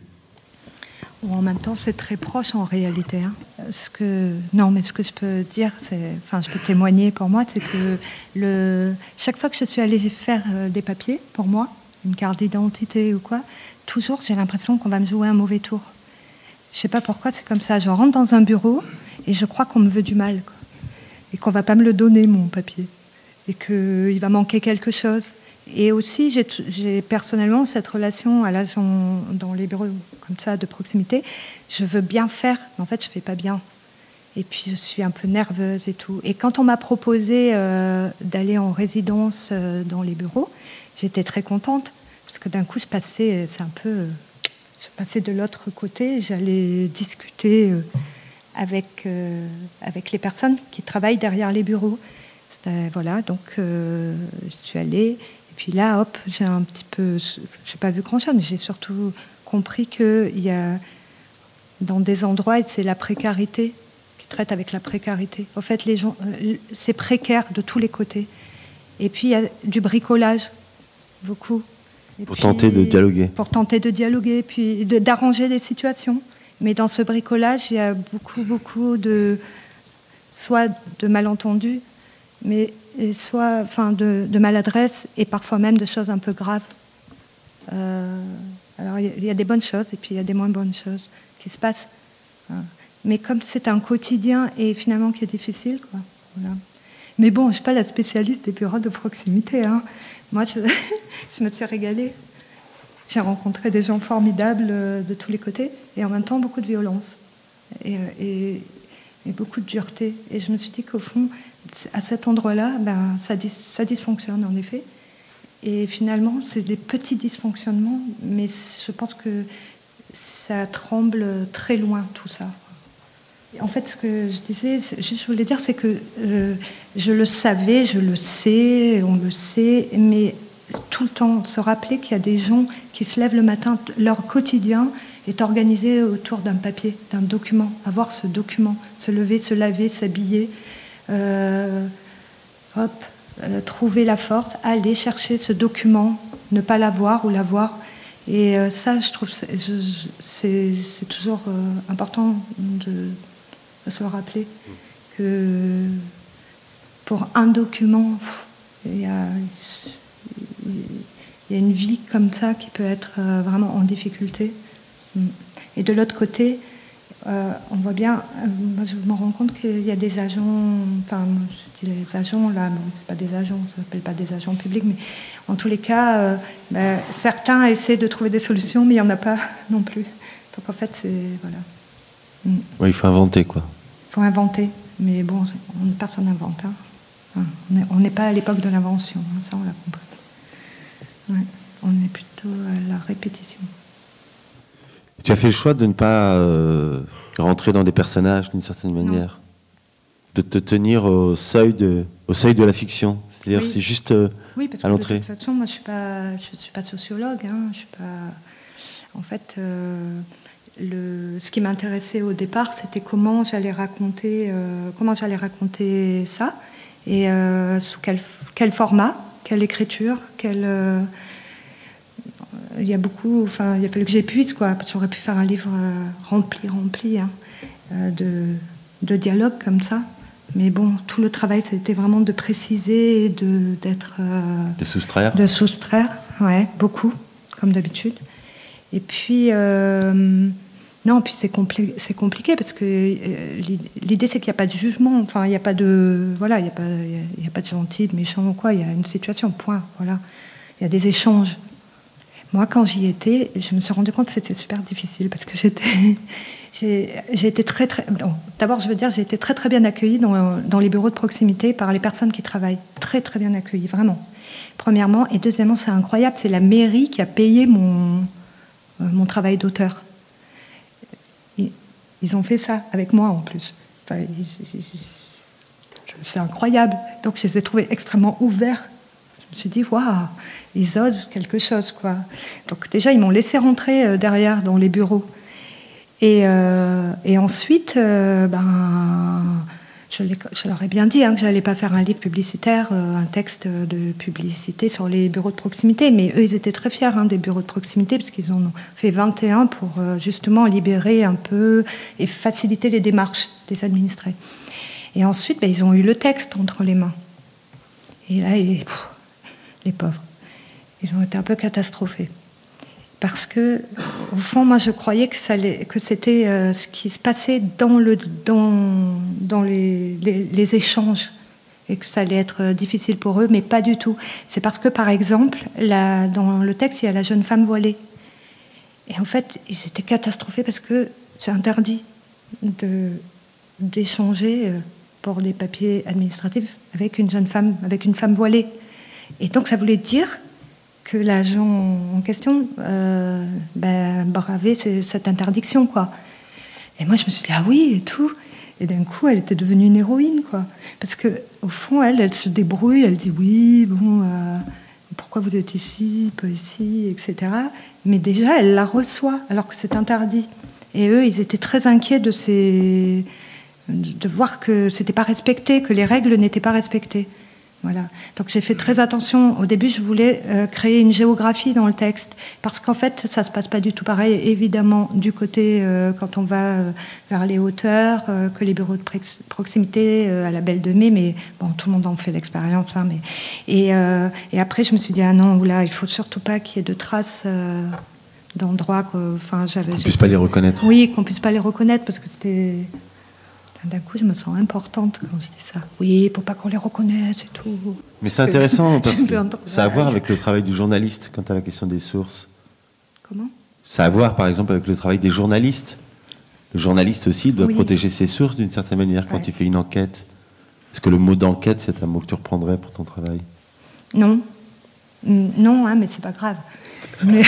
En même temps, c'est très proche en réalité. Hein. Ce que, non, mais ce que je peux dire, c'est, enfin, je peux témoigner pour moi, c'est que le, chaque fois que je suis allée faire euh, des papiers, pour moi, une carte d'identité ou quoi, toujours j'ai l'impression qu'on va me jouer un mauvais tour. Je ne sais pas pourquoi, c'est comme ça. Je rentre dans un bureau et je crois qu'on me veut du mal, quoi. Et qu'on ne va pas me le donner, mon papier. Et qu'il va manquer quelque chose. Et aussi, j'ai, j'ai personnellement cette relation à l'agent dans les bureaux comme ça, de proximité. Je veux bien faire, mais en fait, je ne fais pas bien. Et puis, je suis un peu nerveuse et tout. Et quand on m'a proposé euh, d'aller en résidence euh, dans les bureaux, j'étais très contente. Parce que d'un coup, je passais, c'est un peu... Euh, Je passais de l'autre côté, j'allais discuter euh, avec, euh, avec les personnes qui travaillent derrière les bureaux. C'était, voilà, donc euh, je suis allée, et puis là, hop, j'ai un petit peu, je n'ai pas vu grand-chose, mais j'ai surtout compris qu'il y a, dans des endroits, c'est la précarité, qui traite avec la précarité. En fait, les gens, euh, c'est précaire de tous les côtés. Et puis, il y a du bricolage, beaucoup. Et pour puis, tenter de dialoguer. Pour tenter de dialoguer, puis de, d'arranger les situations. Mais dans ce bricolage, il y a beaucoup, beaucoup de, soit de malentendus, mais soit, enfin, de, de maladresse et parfois même de choses un peu graves. Euh, alors, il y, a, il y a des bonnes choses et puis il y a des moins bonnes choses qui se passent. Mais comme c'est un quotidien et finalement qui est difficile, quoi. Voilà. Mais bon, je ne suis pas la spécialiste des bureaux de proximité. Hein. Moi, je, je me suis régalée. J'ai rencontré des gens formidables de tous les côtés et en même temps beaucoup de violence et, et, et beaucoup de dureté. Et je me suis dit qu'au fond, à cet endroit-là, ben, ça, dis, ça dysfonctionne en effet. Et finalement, c'est des petits dysfonctionnements, mais je pense que ça tremble très loin, tout ça. En fait, ce que je disais, je voulais dire, c'est que euh, je le savais, je le sais, on le sait, mais tout le temps se rappeler qu'il y a des gens qui se lèvent le matin, leur quotidien est organisé autour d'un papier, d'un document. Avoir ce document, se lever, se laver, s'habiller, euh, hop, euh, trouver la force, aller chercher ce document, ne pas l'avoir ou l'avoir. Et euh, ça, je trouve, c'est, je, c'est, c'est toujours euh, important de, de se le rappeler que pour un document, il y a, il y a une vie comme ça qui peut être euh, vraiment en difficulté. Et de l'autre côté, euh, on voit bien, euh, moi je me rends compte qu'il y a des agents, enfin, je dis les agents là, bon, c'est pas des agents, ça s'appelle pas des agents publics, mais en tous les cas, euh, ben, certains essaient de trouver des solutions, mais il n'y en a pas non plus. Donc en fait, c'est voilà. Mm. Ouais, il faut inventer quoi. Il faut inventer, mais bon, on, personne n'invente. Hein. Enfin, on n'est pas à l'époque de l'invention, hein, ça on l'a compris. Ouais, on est plutôt à la répétition. Tu as fait le choix de ne pas euh, rentrer dans des personnages d'une certaine manière, non. De te tenir au seuil de, au seuil de la fiction. C'est-à-dire, oui. C'est juste euh, oui, parce à que l'entrée. De toute façon, moi, je suis pas, je suis pas sociologue. Hein, je suis pas. En fait, euh, le, ce qui m'intéressait au départ, c'était comment j'allais raconter, euh, comment j'allais raconter ça, et euh, sous quel, quel format, quelle écriture, quelle. Euh, Il y a beaucoup, enfin, il a fallu que j'épuise, quoi. J'aurais pu faire un livre euh, rempli, rempli, hein, euh, de, de dialogues comme ça. Mais bon, tout le travail, c'était vraiment de préciser et de, d'être... Euh, de soustraire De soustraire, ouais, beaucoup, comme d'habitude. Et puis, euh, non, puis c'est, compli- c'est compliqué parce que euh, l'idée, c'est qu'il n'y a pas de jugement. Enfin, il n'y a pas de... Voilà, il n'y a pas, il y a pas de gentil, de méchant ou quoi. Il y a une situation, point, voilà. Il y a des échanges. Moi, quand j'y étais, je me suis rendu compte que c'était super difficile parce que j'étais, j'ai, j'ai été très, très. Bon, d'abord, je veux dire, j'ai été très, très bien accueillie dans, dans les bureaux de proximité par les personnes qui travaillent. Très, très bien accueillie, vraiment. Premièrement. Et deuxièmement, c'est incroyable, c'est la mairie qui a payé mon, euh, mon travail d'auteur. Ils, ils ont fait ça avec moi, en plus. Enfin, ils, ils, ils, c'est incroyable. Donc, je les ai trouvés extrêmement ouverts. Je me suis dit, waouh, ils osent quelque chose, quoi. Donc déjà, ils m'ont laissé rentrer euh, derrière dans les bureaux. Et, euh, et ensuite, euh, ben, je, je leur ai bien dit hein, que je n'allais pas faire un livre publicitaire, euh, un texte de publicité sur les bureaux de proximité. Mais eux, ils étaient très fiers hein, des bureaux de proximité, parce qu'ils en ont fait vingt et un pour euh, justement libérer un peu et faciliter les démarches des administrés. Et ensuite, ben, ils ont eu le texte entre les mains. Et là, ils... Pff, les pauvres, ils ont été un peu catastrophés. Parce que, au fond, moi, je croyais que, ça allait, que c'était euh, ce qui se passait dans, le, dans, dans les, les, les échanges, et que ça allait être difficile pour eux, mais pas du tout. C'est parce que, par exemple, la, dans le texte, il y a la jeune femme voilée. Et en fait, ils étaient catastrophés parce que c'est interdit de, d'échanger euh, pour des papiers administratifs avec une jeune femme, avec une femme voilée. Et donc, ça voulait dire que l'agent en question euh, ben, bravait cette interdiction, quoi. Et moi, je me suis dit, ah oui, et tout. Et d'un coup, elle était devenue une héroïne, quoi. Parce qu'au fond, elle, elle se débrouille, elle dit, oui, bon, euh, pourquoi vous êtes ici, pas ici, et cetera. Mais déjà, elle la reçoit, alors que c'est interdit. Et eux, ils étaient très inquiets de, ces... de voir que c'était pas respecté, que les règles n'étaient pas respectées. Voilà. Donc j'ai fait très attention. Au début, je voulais euh, créer une géographie dans le texte, parce qu'en fait, ça se passe pas du tout pareil. Évidemment, du côté euh, quand on va euh, vers les hauteurs, euh, que les bureaux de proximité euh, à la Belle de Mai, mais bon, tout le monde en fait l'expérience. Hein, mais et, euh, et après, je me suis dit ah non, oula, il faut surtout pas qu'il y ait de traces euh, d'endroits. Quoi. Enfin, j'avais. Qu'on puisse pas les reconnaître. Oui, qu'on puisse pas les reconnaître, parce que c'était D'un coup, je me sens importante quand je dis ça. Oui, pour pas qu'on les reconnaisse et tout. Mais c'est intéressant, parce que un ça a à voir avec le travail du journaliste quant à la question des sources. Comment ? Ça a à voir, par exemple, avec le travail des journalistes. Le journaliste aussi il doit Oui. protéger ses sources d'une certaine manière quand Ouais. il fait une enquête. Est-ce que le mot d'enquête, c'est un mot que tu reprendrais pour ton travail ? Non. Mm, Non, hein, mais c'est pas grave. Mais...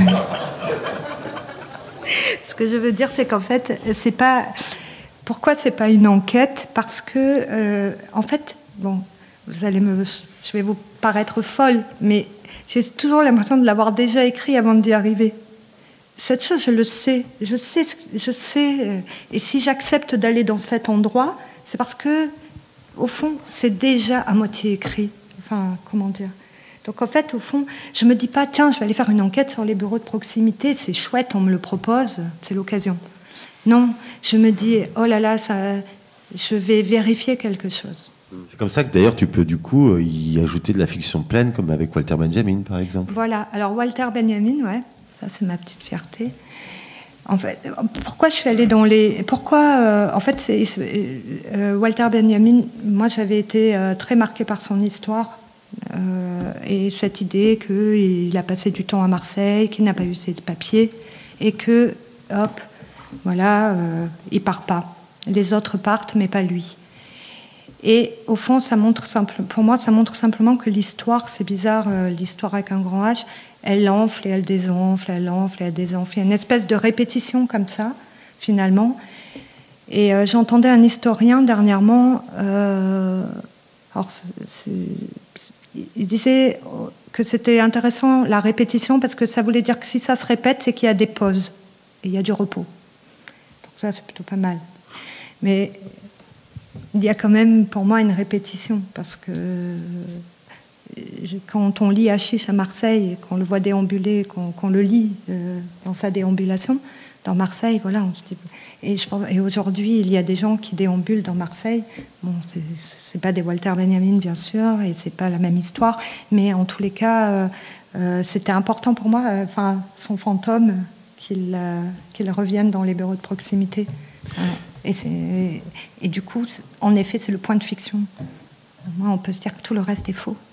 Ce que je veux dire, c'est qu'en fait, c'est pas... Pourquoi c'est pas une enquête ? Parce que, euh, en fait, bon, vous allez me... Je vais vous paraître folle, mais j'ai toujours l'impression de l'avoir déjà écrit avant d'y arriver. Cette chose, je le sais. Je sais, je sais. euh, Et si j'accepte d'aller dans cet endroit, c'est parce que, au fond, c'est déjà à moitié écrit. Enfin, comment dire ? Donc en fait, au fond, je me dis pas, tiens, je vais aller faire une enquête sur les bureaux de proximité, c'est chouette, on me le propose, c'est l'occasion. Non, je me dis, oh là là, ça, je vais vérifier quelque chose. C'est comme ça que d'ailleurs tu peux du coup y ajouter de la fiction pleine, comme avec Walter Benjamin par exemple. Voilà, alors Walter Benjamin, ouais, ça c'est ma petite fierté. En fait, pourquoi je suis allée dans les... Pourquoi, euh, en fait, c'est, euh, Walter Benjamin, moi j'avais été euh, très marquée par son histoire. Euh, et cette idée qu'il a passé du temps à Marseille, qu'il n'a pas eu ses papiers, et que, hop, voilà, euh, il part pas. Les autres partent, mais pas lui. Et au fond, ça montre simple, pour moi, ça montre simplement que l'histoire, c'est bizarre, euh, l'histoire avec un grand H, elle enfle et elle désenfle, elle enfle et elle désenfle. Il y a une espèce de répétition comme ça, finalement. Et euh, j'entendais un historien dernièrement... Euh, alors, c'est, c'est, il disait que c'était intéressant la répétition parce que ça voulait dire que si ça se répète, c'est qu'il y a des pauses et il y a du repos. Donc ça, c'est plutôt pas mal. Mais il y a quand même pour moi une répétition parce que quand on lit Hachiche à Marseille, qu'on le voit déambuler, qu'on, qu'on le lit euh, dans sa déambulation, dans Marseille, voilà, on se dit... Et, je pense, et aujourd'hui, il y a des gens qui déambulent dans Marseille. Bon, c'est, c'est pas des Walter Benjamin, bien sûr, et c'est pas la même histoire, mais en tous les cas, euh, euh, c'était important pour moi, euh, enfin, son fantôme, qu'il, euh, qu'il revienne dans les bureaux de proximité. Voilà. Et, c'est, et du coup, en effet, c'est le point de fiction. Moi, on peut se dire que tout le reste est faux.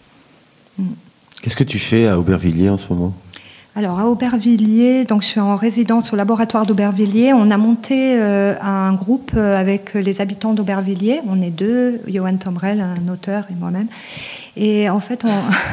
Mm. Qu'est-ce que tu fais à Aubervilliers en ce moment ? Alors, à Aubervilliers, donc je suis en résidence au laboratoire d'Aubervilliers. On a monté euh, un groupe avec les habitants d'Aubervilliers. On est deux, Johan Tomrel, un auteur, et moi-même. Et en fait,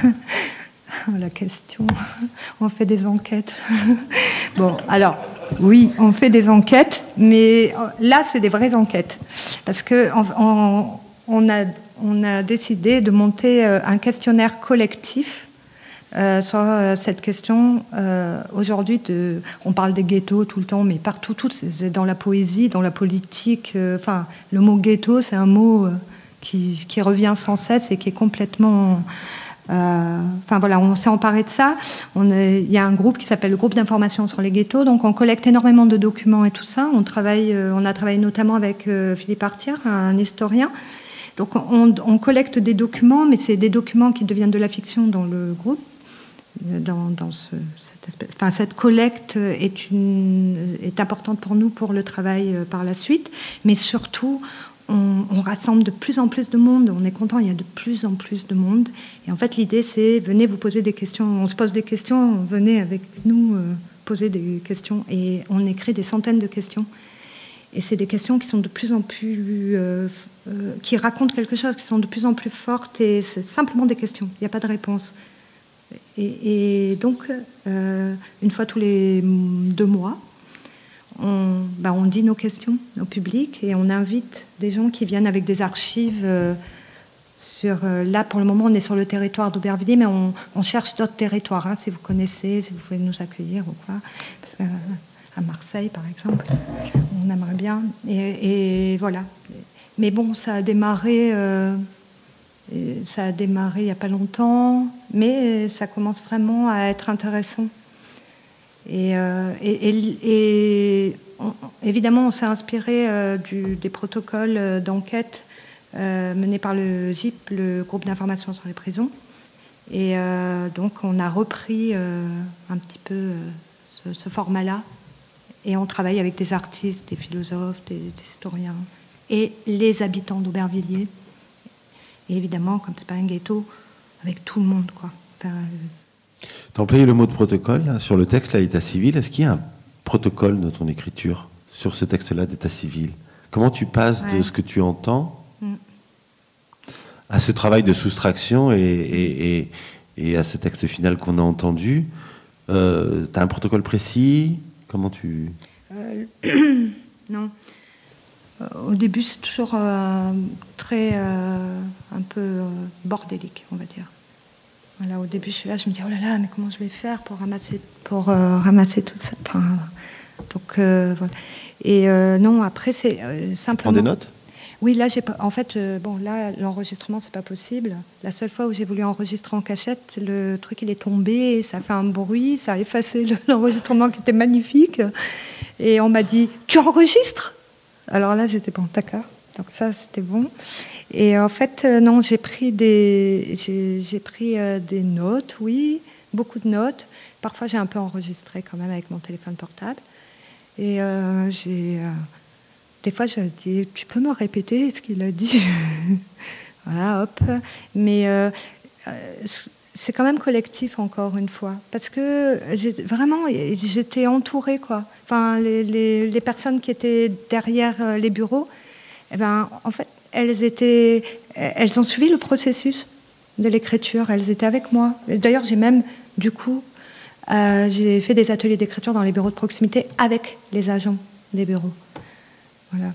on... la question, on fait des enquêtes. Bon, alors, oui, on fait des enquêtes, mais là, c'est des vraies enquêtes. Parce qu'on on, on a, on a décidé de monter un questionnaire collectif Euh, sur euh, cette question euh, aujourd'hui de, on parle des ghettos tout le temps, mais partout, tout, c'est dans la poésie, dans la politique. Enfin, euh, le mot ghetto, c'est un mot euh, qui, qui revient sans cesse et qui est complètement. Enfin euh, voilà, on s'est emparé de ça. Il y a un groupe qui s'appelle le groupe d'information sur les ghettos, donc on collecte énormément de documents et tout ça. On travaille, euh, on a travaillé notamment avec euh, Philippe Artière, un historien. Donc on, on collecte des documents, mais c'est des documents qui deviennent de la fiction dans le groupe. Dans, dans ce, cette, espèce, enfin, cette collecte est, une, est importante pour nous pour le travail euh, par la suite, mais surtout on, on rassemble de plus en plus de monde, on est content, il y a de plus en plus de monde, et en fait l'idée c'est venez vous poser des questions, on se pose des questions, venez avec nous euh, poser des questions, et on écrit des centaines de questions, et c'est des questions qui sont de plus en plus euh, euh, qui racontent quelque chose, qui sont de plus en plus fortes, et c'est simplement des questions, il n'y a pas de réponse. Et, et donc, euh, une fois tous les deux mois, on, bah, on dit nos questions au public et on invite des gens qui viennent avec des archives. Euh, sur, euh, là, pour le moment, on est sur le territoire d'Aubervilliers, mais on, on cherche d'autres territoires. Hein, si vous connaissez, si vous pouvez nous accueillir ou quoi. Parce que, euh, à Marseille, par exemple, on aimerait bien. Et, et voilà. Mais bon, ça a démarré... Euh, Et ça a démarré il n'y a pas longtemps, mais ça commence vraiment à être intéressant. Et, euh, et, et, et on, évidemment, on s'est inspiré euh, du, des protocoles d'enquête euh, menés par le G I P, le groupe d'information sur les prisons. Et euh, donc, on a repris euh, un petit peu euh, ce, ce format-là. Et on travaille avec des artistes, des philosophes, des, des historiens. et les habitants d'Aubervilliers. Et évidemment, comme c'est pas un ghetto, avec tout le monde, quoi. Enfin, euh... Tu as employé le mot de protocole là, sur le texte, là, l'état civil. Est-ce qu'il y a un protocole de ton écriture sur ce texte-là d'état civil? Comment tu passes ouais. de ce que tu entends mm. à ce travail de soustraction et, et, et, et à ce texte final qu'on a entendu? euh, Tu as un protocole précis? Comment tu... Euh, non. Euh, au début, c'est toujours euh, très... Euh, un peu euh, bordélique, on va dire. Voilà, au début, je suis là, je me dis, oh là là, mais comment je vais faire pour ramasser, pour, euh, ramasser tout ça enfin, donc, euh, voilà. Et euh, non, après, c'est euh, simplement... Prends des notes? Oui, là, j'ai pas... En fait, euh, bon, là, l'enregistrement, c'est pas possible. La seule fois où j'ai voulu enregistrer en cachette, le truc, il est tombé, ça a fait un bruit, ça a effacé le, l'enregistrement qui était magnifique. Et on m'a dit, tu enregistres? Alors là, j'étais bon, d'accord. Donc ça, c'était bon. Et en fait, euh, non, j'ai pris des, j'ai, j'ai pris euh, des notes, oui, beaucoup de notes. Parfois, j'ai un peu enregistré quand même avec mon téléphone portable. Et euh, j'ai, euh, des fois, je dis, tu peux me répéter ce qu'il a dit? Voilà, hop. Mais euh, c'est quand même collectif, encore une fois. Parce que j'ai, vraiment, j'étais entourée, quoi. Enfin, les, les, les personnes qui étaient derrière les bureaux, eh ben, en fait, elles étaient, elles ont suivi le processus de l'écriture. Elles étaient avec moi. D'ailleurs, j'ai même, du coup, euh, j'ai fait des ateliers d'écriture dans les bureaux de proximité avec les agents des bureaux. Voilà.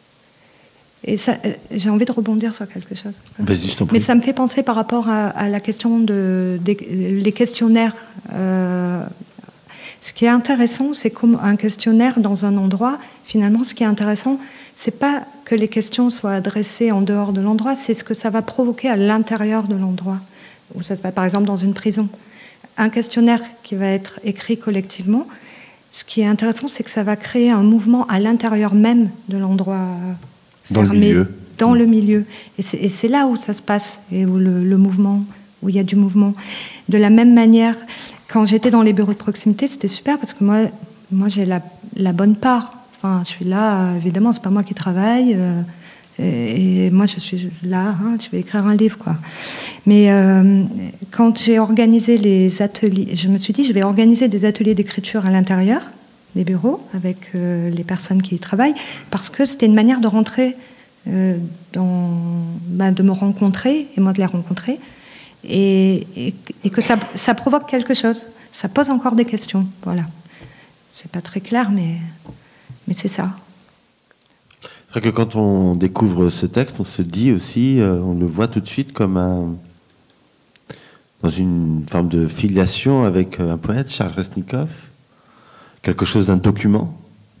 Et ça, j'ai envie de rebondir sur quelque chose. Vas-y, je t'en prie. Mais ça me fait penser par rapport à, à la question de, des les questionnaires. Euh, ce qui est intéressant, c'est comme un questionnaire dans un endroit. Finalement, ce qui est intéressant, c'est pas que les questions soient adressées en dehors de l'endroit, c'est ce que ça va provoquer à l'intérieur de l'endroit. Ou ça se passe, par exemple, dans une prison. Un questionnaire qui va être écrit collectivement, ce qui est intéressant, c'est que ça va créer un mouvement à l'intérieur même de l'endroit dans fermé, le milieu. Dans mmh. le milieu. Et c'est, et c'est là où ça se passe, et où le, le mouvement, où il y a du mouvement. De la même manière, quand j'étais dans les bureaux de proximité, c'était super, parce que moi, moi j'ai la, la bonne part. Enfin, je suis là, évidemment, c'est pas moi qui travaille, euh, et, et moi je suis là, hein, je vais écrire un livre, quoi. Mais euh, quand j'ai organisé les ateliers, je me suis dit, je vais organiser des ateliers d'écriture à l'intérieur des bureaux avec euh, les personnes qui y travaillent, parce que c'était une manière de rentrer, euh, dans, bah, de me rencontrer et moi de les rencontrer, et, et, et que ça, ça provoque quelque chose, ça pose encore des questions, voilà. C'est pas très clair, mais. Mais c'est ça. C'est vrai que quand on découvre ce texte, on se dit aussi, euh, on le voit tout de suite comme un, dans une forme de filiation avec un poète, Charles Resnikov, quelque chose d'un document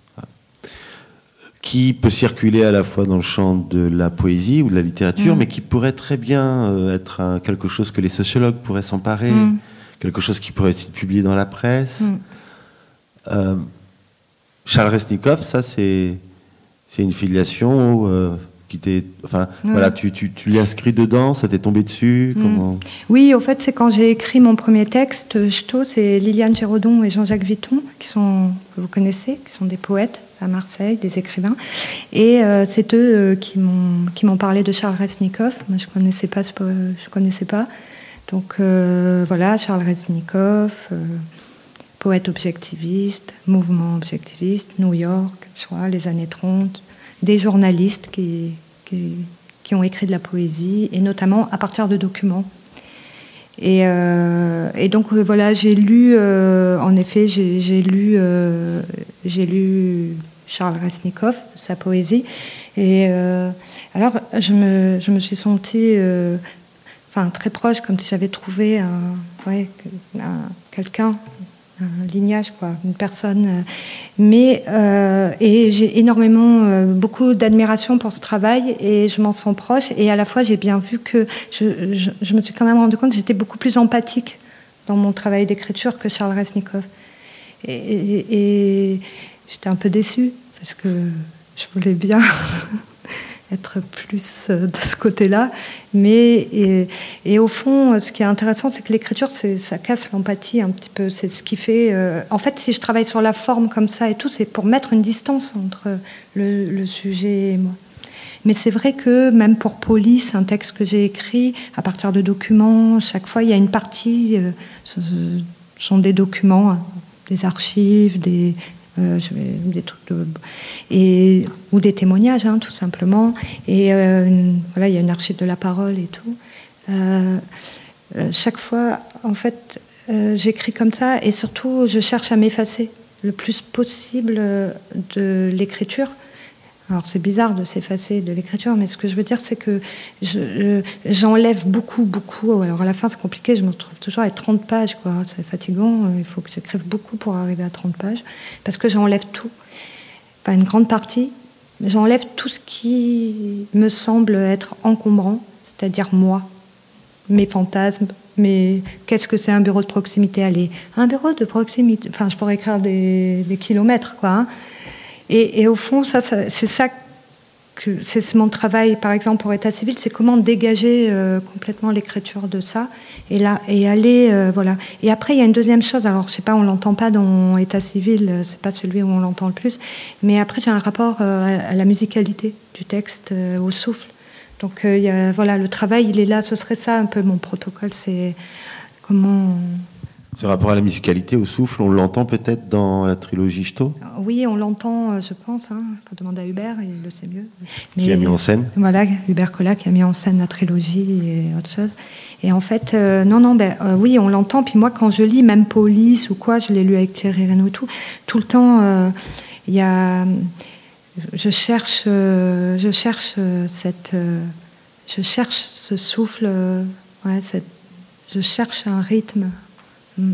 qui peut circuler à la fois dans le champ de la poésie ou de la littérature, mmh. mais qui pourrait très bien euh, être un, quelque chose que les sociologues pourraient s'emparer, mmh. quelque chose qui pourrait être publié dans la presse. Mmh. Euh, Charles Resnikov, ça c'est c'est une filiation euh, qui t'est, enfin oui. voilà, tu tu tu l'as inscrit dedans, ça t'est tombé dessus, mmh. comment? Oui, au fait, c'est quand j'ai écrit mon premier texte, Ch'to, c'est Liliane Géraudon et Jean-Jacques Vuitton qui sont, que vous connaissez, qui sont des poètes à Marseille, des écrivains, et euh, c'est eux euh, qui m'ont qui m'ont parlé de Charles Resnikov. Moi, je connaissais pas, je connaissais pas, donc euh, voilà, Charles Resnikov. Euh, poète objectiviste, mouvement objectiviste, New York, je crois, les années trente, des journalistes qui, qui, qui ont écrit de la poésie, et notamment à partir de documents. Et, euh, et donc, euh, voilà, j'ai lu, euh, en effet, j'ai, j'ai, lu, euh, j'ai lu Charles Resnikov, sa poésie, et euh, alors, je me, je me suis sentie... Euh, enfin, très proche, comme si j'avais trouvé un, ouais, un, quelqu'un, un lignage, quoi, une personne. Mais euh, et j'ai énormément, euh, beaucoup d'admiration pour ce travail, et je m'en sens proche. Et à la fois, j'ai bien vu que je, je, je me suis quand même rendu compte que j'étais beaucoup plus empathique dans mon travail d'écriture que Charles Resnikov. Et, et, et j'étais un peu déçue parce que je voulais bien être plus de ce côté-là. Mais, et, et au fond, ce qui est intéressant, c'est que l'écriture, c'est, ça casse l'empathie un petit peu. C'est ce qui fait... Euh, en fait, si je travaille sur la forme comme ça et tout, c'est pour mettre une distance entre le, le sujet et moi. Mais c'est vrai que même pour Police, un texte que j'ai écrit à partir de documents, chaque fois il y a une partie, euh, ce sont des documents, des archives, des, euh, je vais, des trucs de, et, ou des témoignages, hein, tout simplement. Et euh, voilà, il y a une archive de la parole et tout. Euh, euh, chaque fois, en fait, euh, j'écris comme ça, et surtout, je cherche à m'effacer le plus possible de l'écriture. Alors c'est bizarre de s'effacer de l'écriture, mais ce que je veux dire, c'est que je, j'enlève beaucoup, beaucoup. Alors à la fin, c'est compliqué, je me retrouve toujours à trente pages, quoi. C'est fatigant, il faut que j'écrive beaucoup pour arriver à trente pages, parce que j'enlève tout. Enfin, une grande partie, j'enlève tout ce qui me semble être encombrant, c'est-à-dire moi, mes fantasmes, mais qu'est-ce que c'est un bureau de proximité? Allez, un bureau de proximité, enfin, je pourrais écrire des, des kilomètres, quoi. Hein. Et, et au fond, ça, ça, c'est ça que c'est mon travail, par exemple, pour État civil, c'est comment dégager euh, complètement l'écriture de ça, et là, et aller, euh, voilà. Et après, il y a une deuxième chose. Alors, je sais pas, on l'entend pas dans État civil, c'est pas celui où on l'entend le plus, mais après, j'ai un rapport euh, à la musicalité du texte, euh, au souffle. Donc, euh, y a, voilà, le travail, il est là. Ce serait ça un peu mon protocole. C'est comment. Ce rapport à la musicalité, au souffle, on l'entend peut-être dans la trilogie Ch'to ? Oui, on l'entend, je pense. Il hein. faut demander à Hubert, il le sait mieux. Mais, qui a mis en scène ? Voilà, Hubert Collat qui a mis en scène la trilogie et autre chose. Et en fait, euh, non, non, ben, euh, oui, on l'entend. Puis moi, quand je lis, même Police ou quoi, je l'ai lu avec Thierry Reynaud et tout, tout le temps, il euh, y a... Je cherche, euh, je cherche euh, cette... Euh, je cherche ce souffle, euh, ouais, cette, je cherche un rythme. Mm.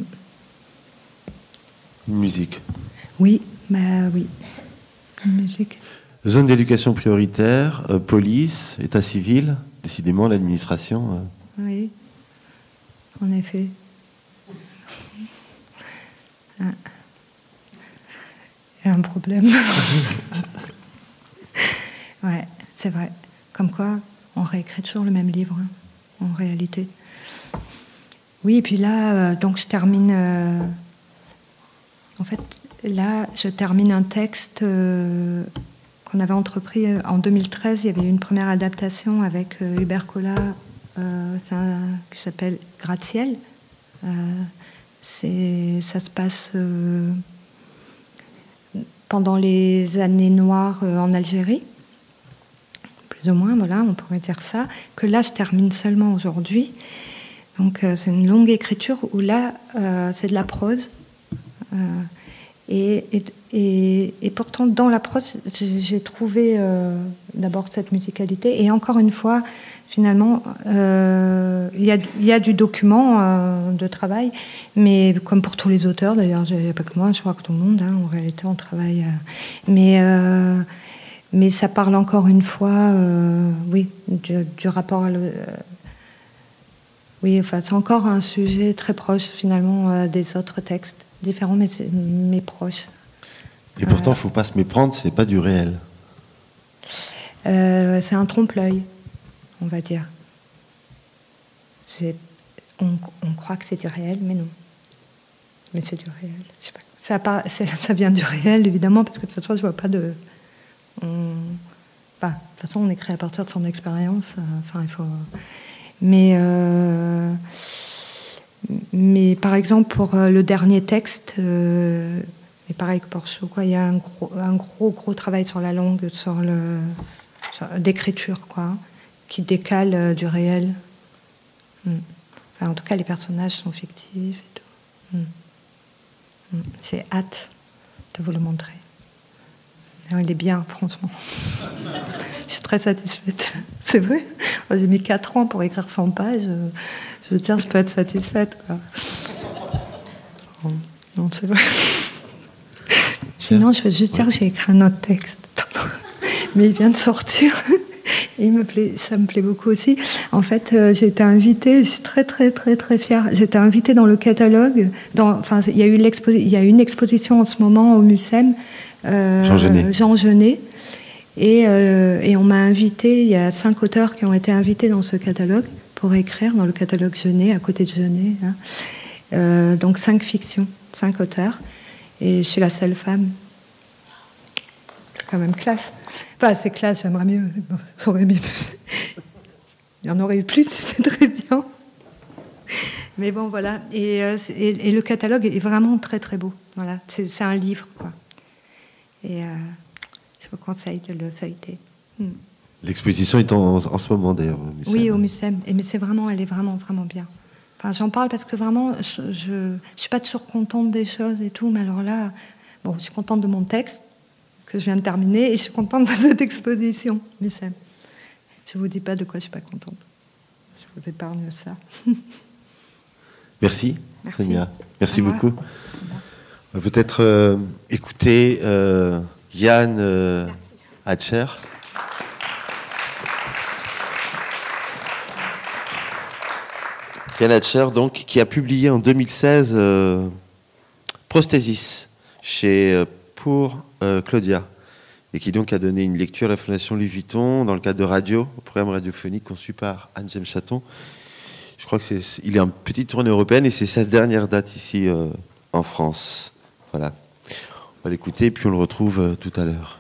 Musique. Oui, bah oui. Musique. Zone d'éducation prioritaire, euh, police, état civil, décidément l'administration. Euh... Oui, en effet. Ah. Il y a un problème. Ouais, c'est vrai. Comme quoi, on réécrit toujours le même livre, hein, en réalité. Oui, et puis là, euh, donc je termine... Euh, en fait, là, je termine un texte euh, qu'on avait entrepris euh, en deux mille treize. Il y avait eu une première adaptation avec euh, Hubert Collat, euh, un, qui s'appelle Gratte-ciel. Euh, c'est, ça se passe euh, pendant les années noires euh, en Algérie. Plus ou moins, voilà, on pourrait dire ça. Que là, je termine seulement aujourd'hui. Donc, euh, c'est une longue écriture où là, euh, c'est de la prose. Euh, et, et, et, et pourtant, dans la prose, j'ai, j'ai trouvé euh, d'abord cette musicalité. Et encore une fois, finalement, euh, il y a, y a du document euh, de travail, mais comme pour tous les auteurs, d'ailleurs, il n'y a pas que moi, je crois que tout le monde, hein, en réalité, on travaille. Euh, mais, euh, mais ça parle encore une fois, euh, oui, du, du rapport à le, euh, oui, enfin, c'est encore un sujet très proche, finalement, euh, des autres textes. Différents, mais, mais proches. Et pourtant, il euh, ne faut pas se méprendre, ce n'est pas du réel. Euh, c'est un trompe-l'œil, on va dire. C'est, on, on croit que c'est du réel, mais non. Mais c'est du réel. Je sais pas. Ça, part, c'est, ça vient du réel, évidemment, parce que de toute façon, je ne vois pas de... On, bah, de toute façon, on écrit à partir de son expérience. Euh, enfin, il faut... Mais... Euh, Mais par exemple, pour euh, le dernier texte, euh, et pareil que pour Chou, quoi, il y a un gros, un gros, gros travail sur la langue, sur le, sur, d'écriture, quoi, qui décale euh, du réel. Mm. Enfin, en tout cas, les personnages sont fictifs et tout. Mm. Mm. J'ai hâte de vous le montrer. Alors, il est bien, franchement. Je suis très satisfaite. C'est vrai. J'ai mis quatre ans pour écrire cent pages. Je veux dire, je peux être satisfaite, quoi. Bon, non, c'est vrai. Sinon, je veux juste dire que j'ai écrit un autre texte. Pardon. Mais il vient de sortir. Et il me plaît, ça me plaît beaucoup aussi. En fait, euh, j'ai été invitée, je suis très, très, très, très fière. J'ai été invitée dans le catalogue. Dans, enfin, il y a eu l'expo, il y a une exposition en ce moment au Mucem. Euh, Jean Genet. Jean Genet. Et, euh, et on m'a invitée, il y a cinq auteurs qui ont été invités dans ce catalogue pour écrire dans le catalogue Genet, à côté de Genet. Hein. Euh, donc cinq fictions, cinq auteurs. Et je suis la seule femme. C'est quand même classe. Enfin, ces classes, j'aimerais mieux. Bon, j'aurais mieux. Il y en aurait eu plus, c'était très bien. Mais bon, voilà. Et, euh, et, et le catalogue est vraiment très, très beau. Voilà. C'est, c'est un livre, quoi. Et euh, je vous conseille de le feuilleter. Hmm. L'exposition est en, en ce moment, d'ailleurs, au Mucem. Oui, au Mucem. Et mais c'est vraiment, elle est vraiment, vraiment bien. Enfin, j'en parle parce que vraiment, je ne suis pas toujours contente des choses et tout, mais alors là, bon, je suis contente de mon texte que je viens de terminer et je suis contente de cette exposition, Mucem. Je ne vous dis pas de quoi je ne suis pas contente. Je vous épargne ça. Merci, Merci, Sonia. Merci beaucoup. Bon. On va peut-être euh, écouter euh, Yann euh, Hatcher. Yann Hatcher, donc, qui a publié en deux mille seize euh, Prosthesis chez euh, pour euh, Claudia, et qui donc a donné une lecture à la Fondation Louis Vuitton dans le cadre de Radio, au programme radiophonique conçu par Anne-Jaime Chaton. Je crois que c'est, il est en petite tournée européenne et c'est sa dernière date ici euh, en France. Voilà. On va l'écouter et puis on le retrouve euh, tout à l'heure.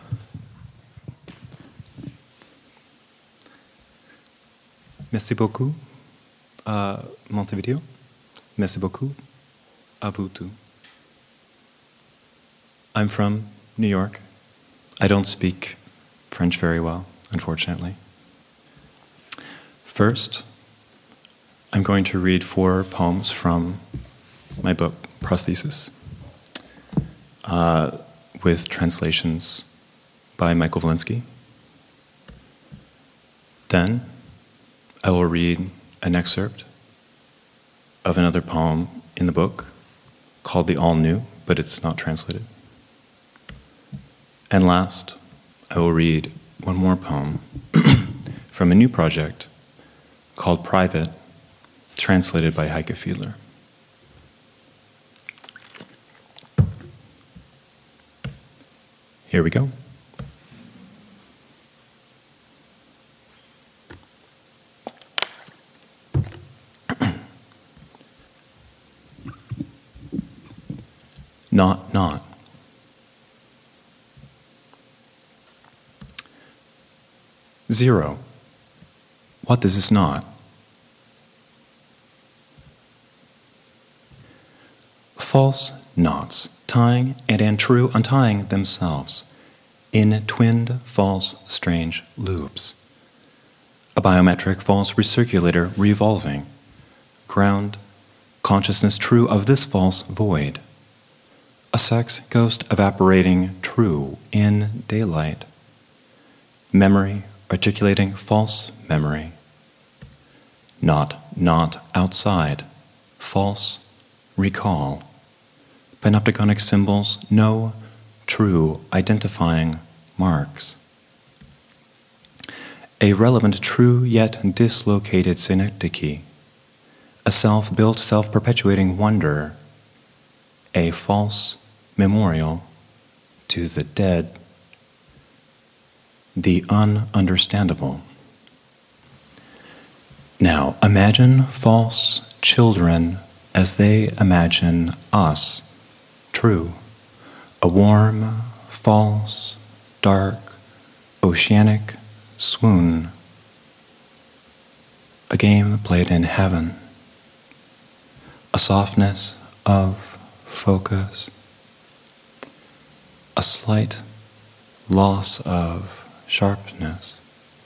Merci beaucoup à Montevideo. Merci beaucoup à vous tous. I'm from New York. I don't speak French very well, unfortunately. First, I'm going to read four poems from my book, Prosthesis, uh, with translations by Michael Valinsky. Then, I will read an excerpt of another poem in the book called The All New, but it's not translated. And last, I will read one more poem from a new project called Private, translated by Heike Fiedler. Here we go. Not, not. Zero. What is this not? False knots, tying and untrue untying themselves in twinned false strange loops. A biometric false recirculator revolving, ground consciousness true of this false void. A sex ghost evaporating true in daylight. Memory articulating false memory. Not, not outside, false recall. Panopticonic symbols, no true identifying marks. A relevant true yet dislocated synecdoche. A self-built, self-perpetuating wonder. A false memorial to the dead. The ununderstandable. Now, imagine false children as they imagine us, true. A warm, false, dark, oceanic swoon. A game played in heaven. A softness of focus. A slight loss of sharpness.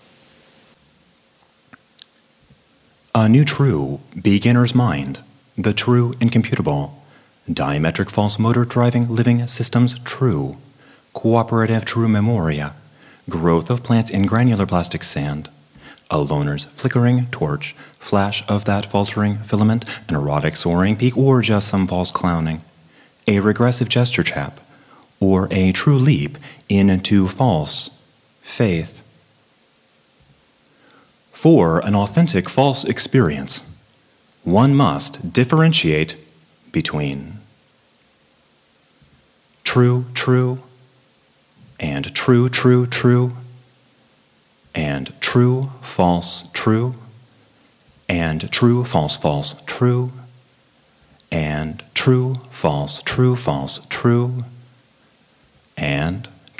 A new true beginner's mind, the true incomputable, diametric false motor driving living systems true, cooperative true memoria, growth of plants in granular plastic sand, a loner's flickering torch, flash of that faltering filament, an erotic soaring peak, or just some false clowning, a regressive gesture chap, or a true leap into false faith. For an authentic false experience, one must differentiate between true, true, and true, true, true, and true, false, true, and true, false, false, true, and true, false, true, false, true, and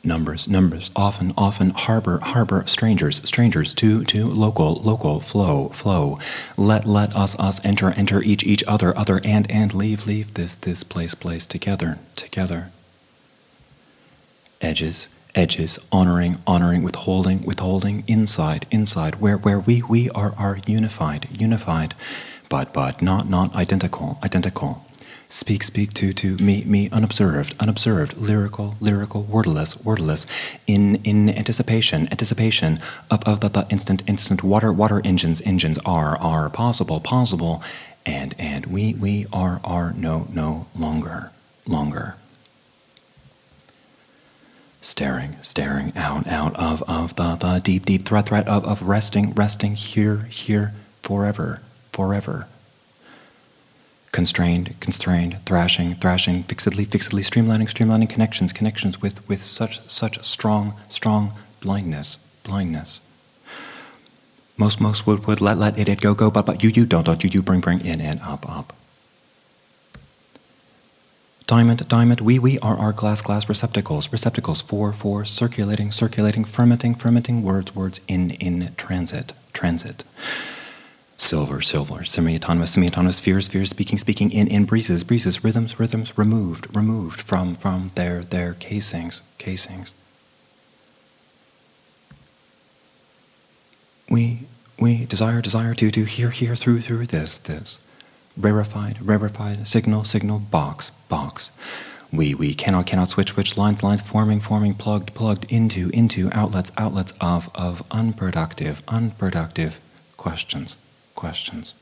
Numbers, numbers, often, often harbor, harbor strangers, strangers to, to local, local, flow, flow. Let, let us, us enter, enter each, each other, other, and, and leave, leave this, this place, place together, together. Edges, edges, honoring, honoring, withholding, withholding, inside, inside, where, where we, we are, are unified, unified, but, but not, not identical, identical. Speak, speak to, to me, me, unobserved, unobserved, lyrical, lyrical, wordless, wordless, in, in anticipation, anticipation of, of the, the instant, instant, water, water engines, engines are, are possible, possible, and, and we, we are, are no, no longer, longer. Staring, staring out, out of, of the, the deep, deep threat, threat of, of resting, resting here, here, forever, forever. Constrained, constrained, thrashing, thrashing, fixedly, fixedly, streamlining, streamlining connections, connections with, with such, such strong, strong blindness, blindness. Most, most would, would let, let it, it go, go, but, but you, you don't, don't, you, you bring, bring in, in, up, up. Diamond, diamond, we, we are our glass, glass receptacles, receptacles for, for circulating, circulating, fermenting, fermenting words, words in, in transit, transit. Silver, silver, semi-autonomous, semi-autonomous spheres, spheres, speaking, speaking in, in breezes, breezes, rhythms, rhythms, removed, removed from, from their, their casings, casings. We, we desire, desire to, to hear, hear through, through this, this. Rarefied, rarefied, signal, signal, box, box. We, we cannot, cannot switch, switch, lines, lines, forming, forming, plugged, plugged into, into, outlets, outlets of, of unproductive, unproductive questions. Questions.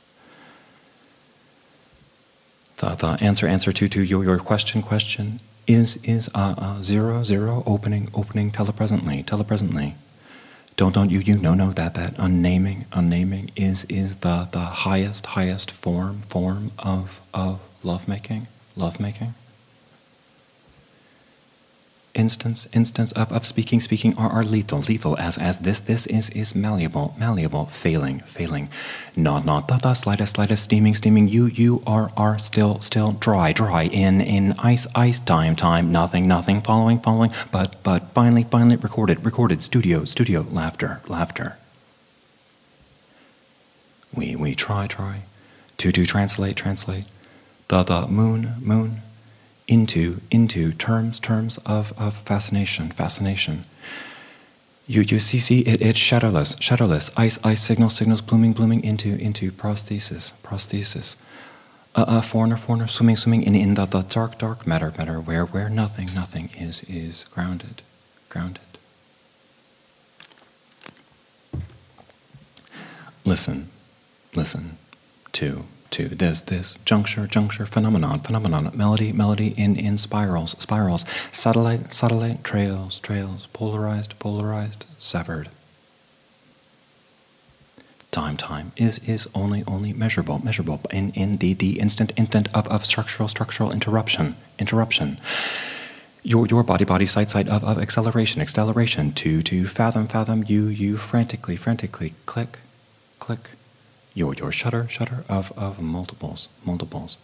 The, the answer, answer to, to your, your question, question is, is uh, uh, zero, zero, opening, opening telepresently, telepresently. Don't, don't you, you know, know that, that unnaming, unnaming is, is the, the highest, highest form, form of, of lovemaking, lovemaking. Instance, instance of, of speaking, speaking are, are lethal, lethal as, as this, this is, is malleable, malleable, failing, failing. Not, not the, the slightest, slightest, steaming, steaming. You, you are, are still, still dry, dry in, in ice, ice, time, time, nothing, nothing, following, following, but, but finally, finally recorded, recorded, studio, studio, laughter, laughter. We, we try, try to, to translate, translate the, the moon, moon, into, into terms, terms of, of fascination, fascination. You, you see, see, it, it's shadowless, shadowless, ice, ice, signals, signals, blooming, blooming into, into prosthesis, prosthesis. A, a foreigner, foreigner, swimming, swimming in, in the, the dark, dark matter, matter, where, where nothing, nothing is, is grounded, grounded. Listen, listen to to this, this juncture, juncture, phenomenon, phenomenon, melody, melody in, in spirals, spirals, satellite, satellite, trails, trails, polarized, polarized, severed. Time, time is, is only, only measurable, measurable in, in the, the instant, instant of, of structural, structural interruption, interruption. Your, your body, body, sight, sight of, of acceleration, acceleration, to, to fathom, fathom, you, you frantically, frantically, click, click. Your, your shutter, shutter of, of multiples, multiples.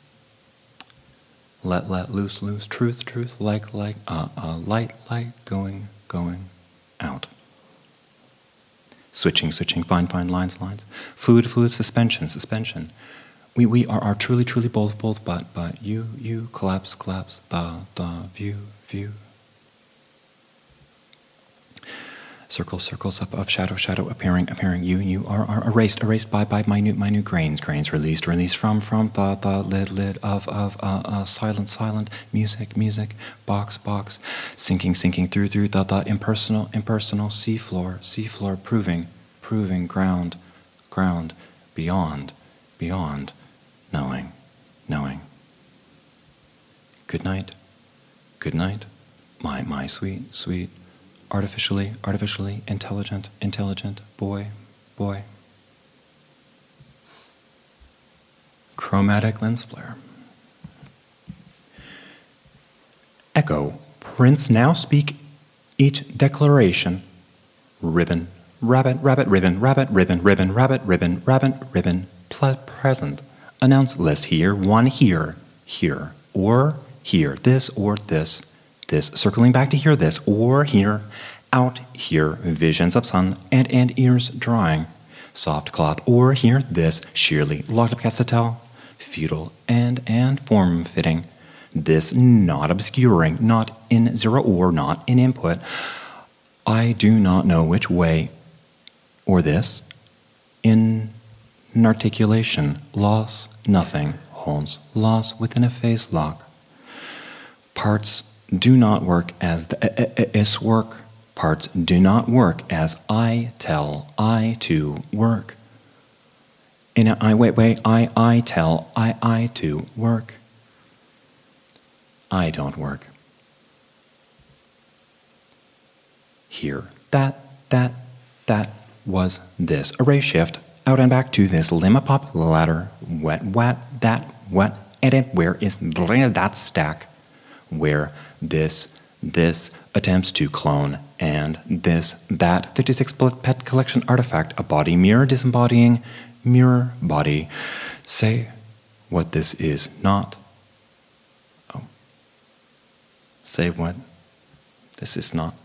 Let, let, loose, loose, truth, truth, like, like, uh, uh, light, light, going, going, out. Switching, switching, fine, fine, lines, lines. Fluid, fluid, suspension, suspension. We, we are, are truly, truly both, both, but, but you, you, collapse, collapse, the, the, view, view. Circles, circles of, of shadow, shadow appearing, appearing. You, you are, are erased, erased by, by minute, minute grains, grains released, released from, from the, the lid, lid of, of uh, uh, silent, silent music, music, box, box, sinking, sinking through, through the, the impersonal, impersonal seafloor, seafloor, proving, proving ground, ground, beyond, beyond, knowing, knowing. Good night, good night, my, my sweet, sweet. Artificially, artificially intelligent, intelligent boy, boy. Chromatic lens flare. Echo. Prince now speak each declaration. Ribbon, rabbit, rabbit, ribbon, rabbit, ribbon, ribbon, rabbit, ribbon, rabbit, ribbon, ple- present. Announce list here, one here, here, or here, this or this. this circling back to hear this, or here, out here, visions of sun and, and ears drawing, soft cloth, or here, this, sheerly locked up castatel, feudal and, and form-fitting, this not obscuring, not in zero or not in input. I do not know which way, or this, in articulation, loss, nothing, holds, loss within a phase lock. Parts do not work as the is work. Parts do not work as I tell I to work. In a I wait wait I I tell I I to work. I don't work. Here, that, that, that was this. Array shift, out and back to this lemma pop ladder, wet, wet, that, wet, and it, where is that stack, where this, this attempts to clone, and this, that, fifty-six pet collection artifact, a body mirror disembodying, mirror body. Say what this is not. Oh. Say what this is not.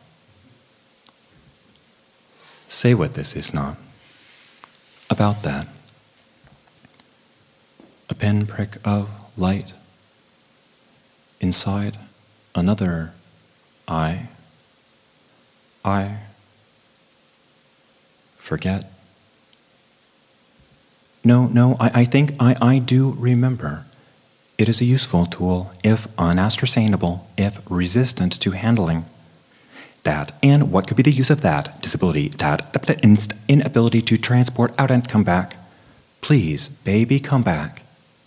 Say what this is not. About that. A pinprick of light inside another eye. I forget. No, no, I, I think I, I do remember. It is a useful tool, if unascertainable, if resistant to handling. That, and what could be the use of that? Disability, that, that inability to transport out and come back. Please, baby, come back.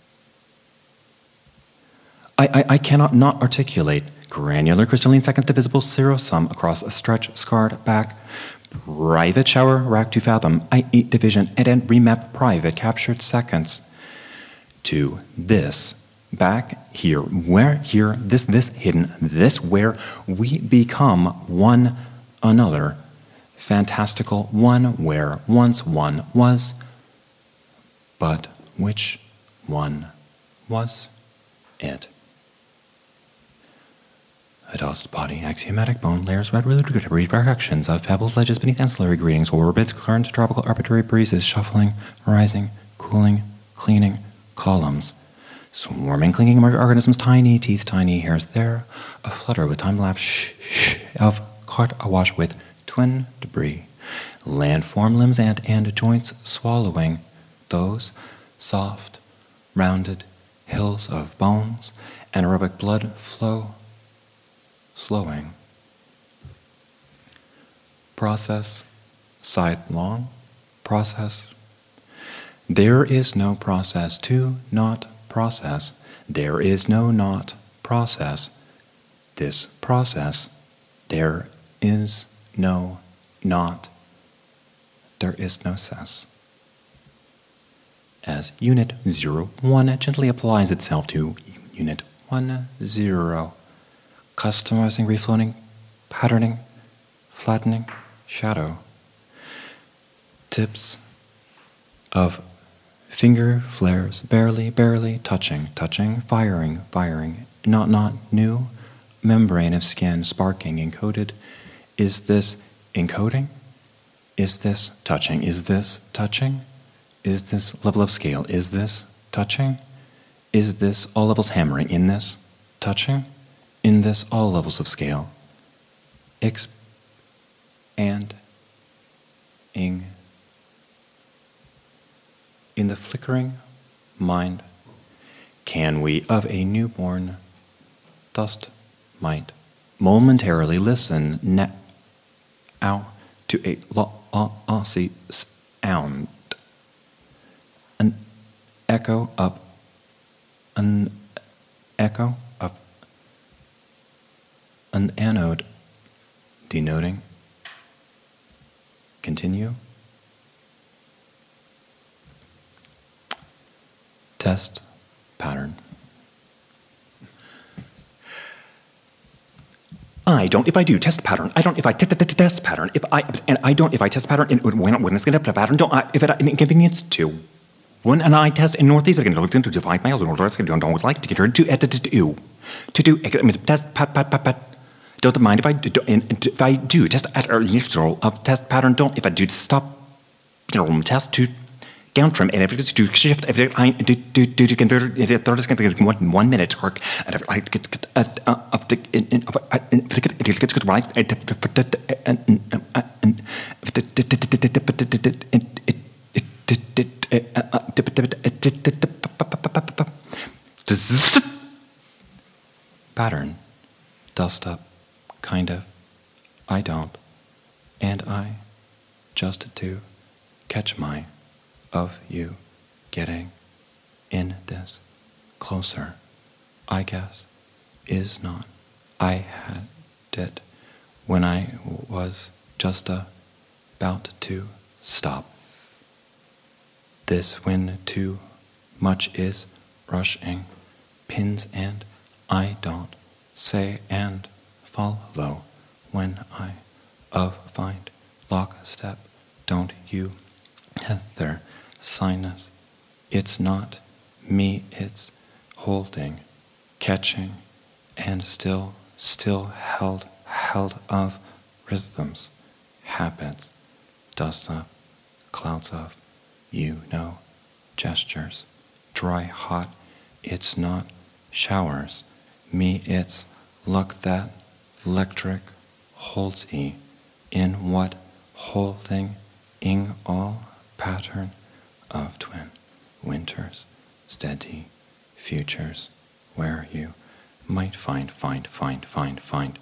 I, I, I cannot not articulate granular crystalline seconds divisible zero sum across a stretch scarred back. Private shower rack to fathom, I eat division and then remap private captured seconds. To this, back here, where here, this, this hidden, this where we become one another. Fantastical one where once one was, but which one was it? A dust body, axiomatic bone layers, red repercussions of pebbled ledges beneath ancillary greetings, orbits, current, tropical arbitrary breezes, shuffling, rising, cooling, cleaning, columns, swarming, clinging organisms, tiny teeth, tiny hairs there, a flutter with time-lapse shh, shh of caught awash with twin debris, landform limbs and, and joints swallowing those soft, rounded hills of bones, anaerobic blood flow slowing. Process, sidelong, process. There is no process to not process. There is no not process. This process, there is no not. There is no cess. As unit zero one gently applies itself to unit one zero. Customizing, refloating, patterning, flattening, shadow. Tips of finger flares, barely, barely, touching, touching, firing, firing, not, not, new, membrane of skin, sparking, encoded. Is this encoding? Is this touching? Is this touching? Is this level of scale? Is this touching? Is this all levels hammering? In this touching? In this all levels of scale, X and ing. In the flickering mind, can we of a newborn dust mite momentarily listen now to a lossy sound, an echo of an echo of an anode denoting. Continue. Test pattern. I don't if I do test pattern. I don't if I t- t- t- test pattern. If I and I don't if I test pattern. And when when it's going to pattern, don't I, if it an inconvenience to. When an I test in northeast, I can look into five miles. Northwest, I don't always like to get her to to to to to do. I mean test pat pat pat pat. don't mind if I do, if I do test at a neutral of test pattern. Don't if I do stop, you know, test to down trim, and if it's to shift, if I do do do to convert if it thirty seconds one one minute work, and if I get of the if it gets good right, pattern, dust up, kind of, I don't, and I, just to catch my, of you, getting, in this, closer, I guess, is not, I had it, when I was just a, about to stop. This when too much is rushing, pins and I don't say and follow when I of find lockstep. Don't you Heather sinus? It's not me, it's holding, catching, and still, still held, held of rhythms, habits, dust up, clouds of, you know, gestures, dry, hot, it's not showers, me, it's luck that electric holds e, in what holding ing all pattern of twin winters, steady futures, where you might find, find, find, find, find,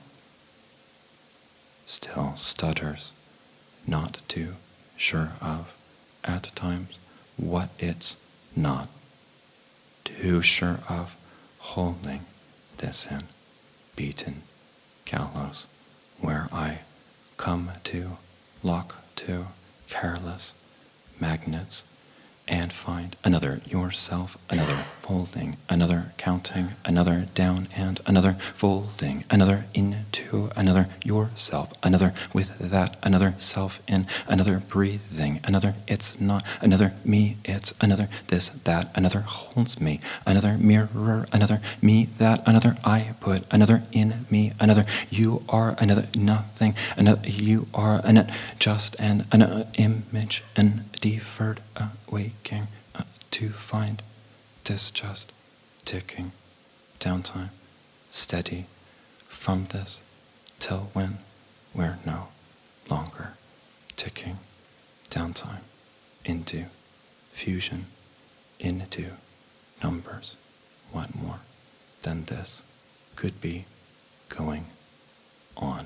still stutters, not too sure of, at times, what it's not, too sure of holding this in, beaten gallows, where I come to, lock to, careless magnets, and find another yourself, another folding, another counting, another down and another folding, another into another yourself, another with that, another self in, another breathing, another it's not, another me, it's another this, that, another holds me, another mirror, another me, that, another I put, another in me, another you are, another nothing, another you are, another just and another image and deferred awaking uh, to find this just ticking downtime steady from this till when we're no longer ticking downtime into fusion into numbers. What more than this could be going on?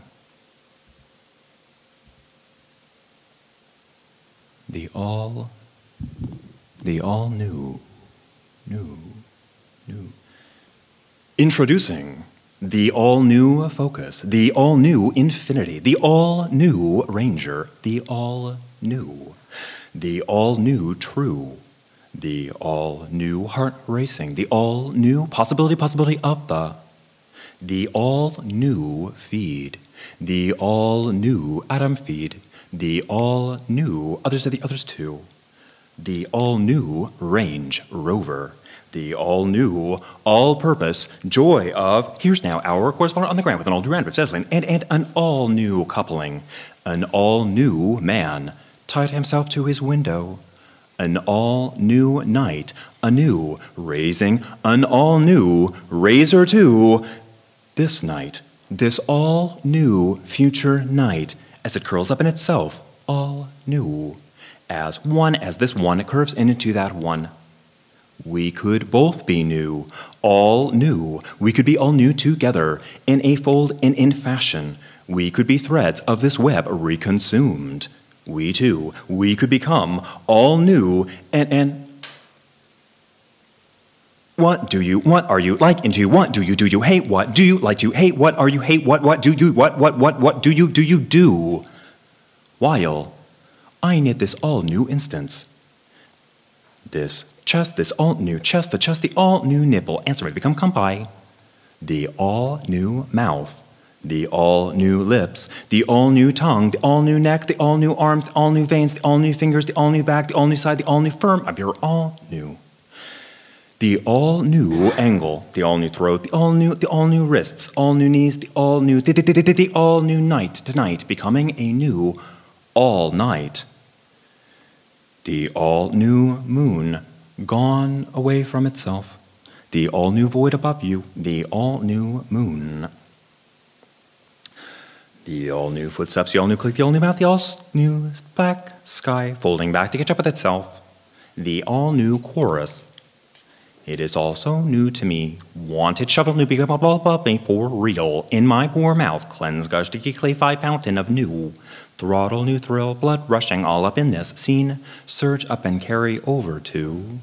The all, the all new, new, new. Introducing the all new Focus, the all new Infinity, the all new Ranger, the all new, the all new True, the all new Heart Racing, the all new Possibility, Possibility of the, the all new Feed, the all new Atom Feed, the all-new, others are the others too, the all-new Range Rover, the all-new, all-purpose joy of, here's now our correspondent on the ground with an all-new Randolph Zeslin, and, and an all-new coupling, an all-new man tied himself to his window, an all-new night, anew, raising an all-new razor to this night, this all-new future night, as it curls up in itself, all new, as one, as this one curves into that one. We could both be new, all new. We could be all new together, in a fold and in fashion. We could be threads of this web reconsumed. We too, we could become all new, and, and what do you, what are you like into, what do you, do you hate, what do you like to hate, what are you hate, what, what do you, what, what, what, what do you, do you do? While I knit this all new instance, this chest, this all new chest, the chest, the all new nipple, answer may become compi, the all new mouth, the all new lips, the all new tongue, the all new neck, the all new arms, the all new veins, the all new fingers, the all new back, the all new side, the all new firm of your all new. The all-new angle, the all-new throat, the all-new, the all-new wrists, all-new knees, the all-new, the, the, the, the, the all-new night tonight, becoming a new all-night. The all-new moon, gone away from itself. The all-new void above you, the all-new moon. The all-new footsteps, the all-new click, the all-new mouth, the all-new black sky, folding back to catch up with itself. The all-new chorus. It is also new to me. Wanted shovel new become blah blah blah blah for real. In my poor mouth, cleanse gush to clay five fountain of new. Throttle new thrill, blood rushing all up in this scene. Surge up and carry over to.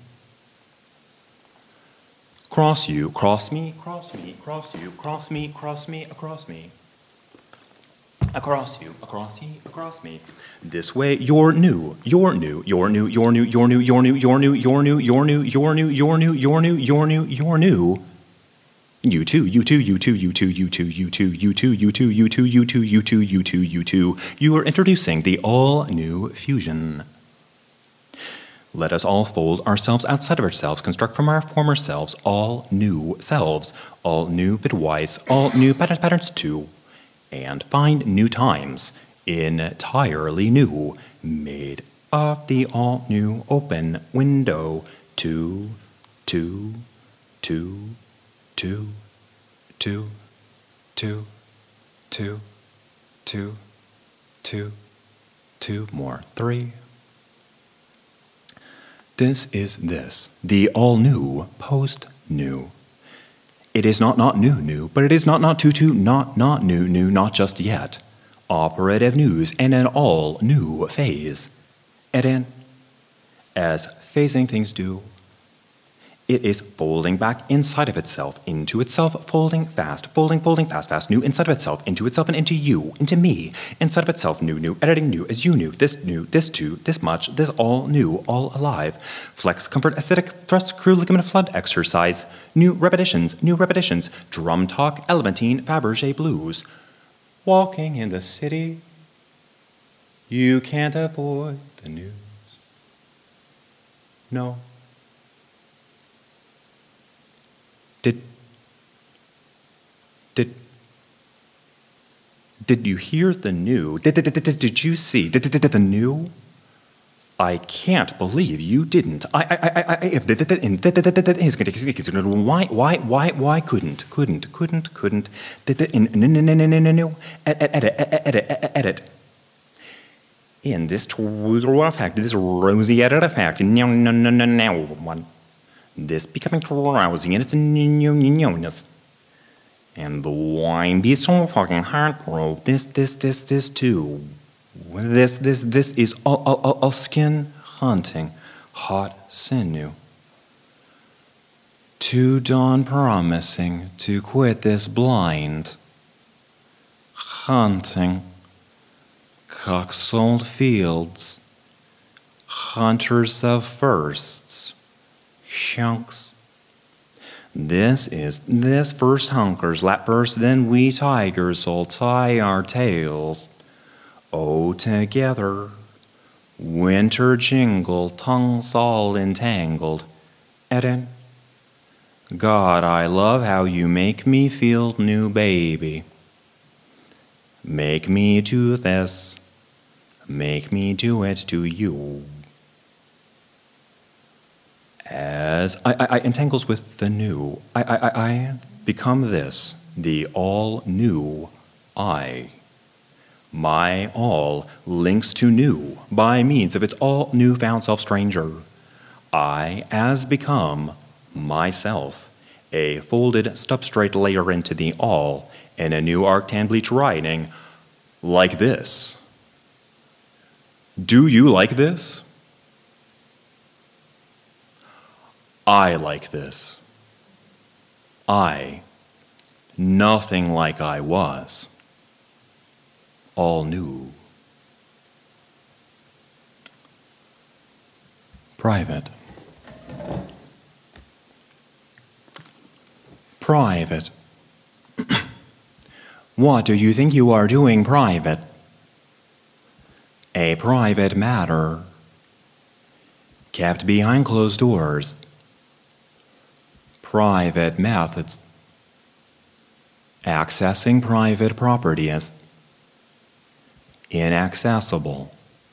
Cross you, cross me, cross me, cross you, cross me, cross me, across me. Across you, across you, across me. This way, you're new, you're new, you're new, you're new, you're new, you're new, you're new, you're new, you're new, you're new, you're new, you're new, you're new, you're new. You too, you too, you too, you too, you too, you too, you too, you too, you too, you too, you too, you too, you too. You are introducing the all-new fusion. Let us all fold ourselves outside of ourselves, construct from our former selves all new selves, all new bitwise, all new patterns, patterns too. And find new times, entirely new, made of the all-new open window, two, two, two, two, two, two, two, two, two, two more, three. This is this, the all-new post-new. It is not not new new, but it is not not too too not not new new, not just yet. Operative news and an all new phase. And in, as phasing things do, it is folding back inside of itself, into itself, folding fast, folding, folding fast, fast, new inside of itself, into itself and into you, into me, inside of itself, new, new, editing new, as you knew, this new, this too, this much, this all new, all alive. Flex, comfort, aesthetic, thrust, crew, ligament, flood, exercise, new repetitions, new repetitions, drum talk, elementine, Fabergé blues. Walking in the city, you can't avoid the news. No. Did, did, did you hear the new? Did, did, did, did you see? Did, did, did the new? I can't believe you didn't. I, I, I, I, if did, did, did, why, why, why, why couldn't, couldn't, couldn't, couldn't, did, did, no, no, no, no, no, no, edit, edit, edit, edit. In this true effect, this rosy edit effect, no, no, no, no, no, one. This becoming drowsy and its no-no-no-ness. And the wine be so fucking heartbroken. This, this, this, this too. This, this, this is all, all, all, all skin hunting, hot sinew. To dawn promising to quit this blind hunting, coxold fields, hunters of firsts. Chunks. This is this first hunkers, lap first, then we tigers will tie our tails. Oh, together, winter jingle, tongues all entangled. Eden, God, I love how you make me feel, new baby. Make me do this, make me do it to you. As I, I, I entangles with the new, I, I, I become this, the all-new I. My all links to new by means of its all new-found self-stranger. I, as become myself, a folded substrate layer into the all, in a new arctan bleach writing, like this. Do you like this? I like this. I, nothing like I was, all new. Private. Private. What do you think you are doing, private? A private matter, kept behind closed doors. private methods, accessing private property as inaccessible.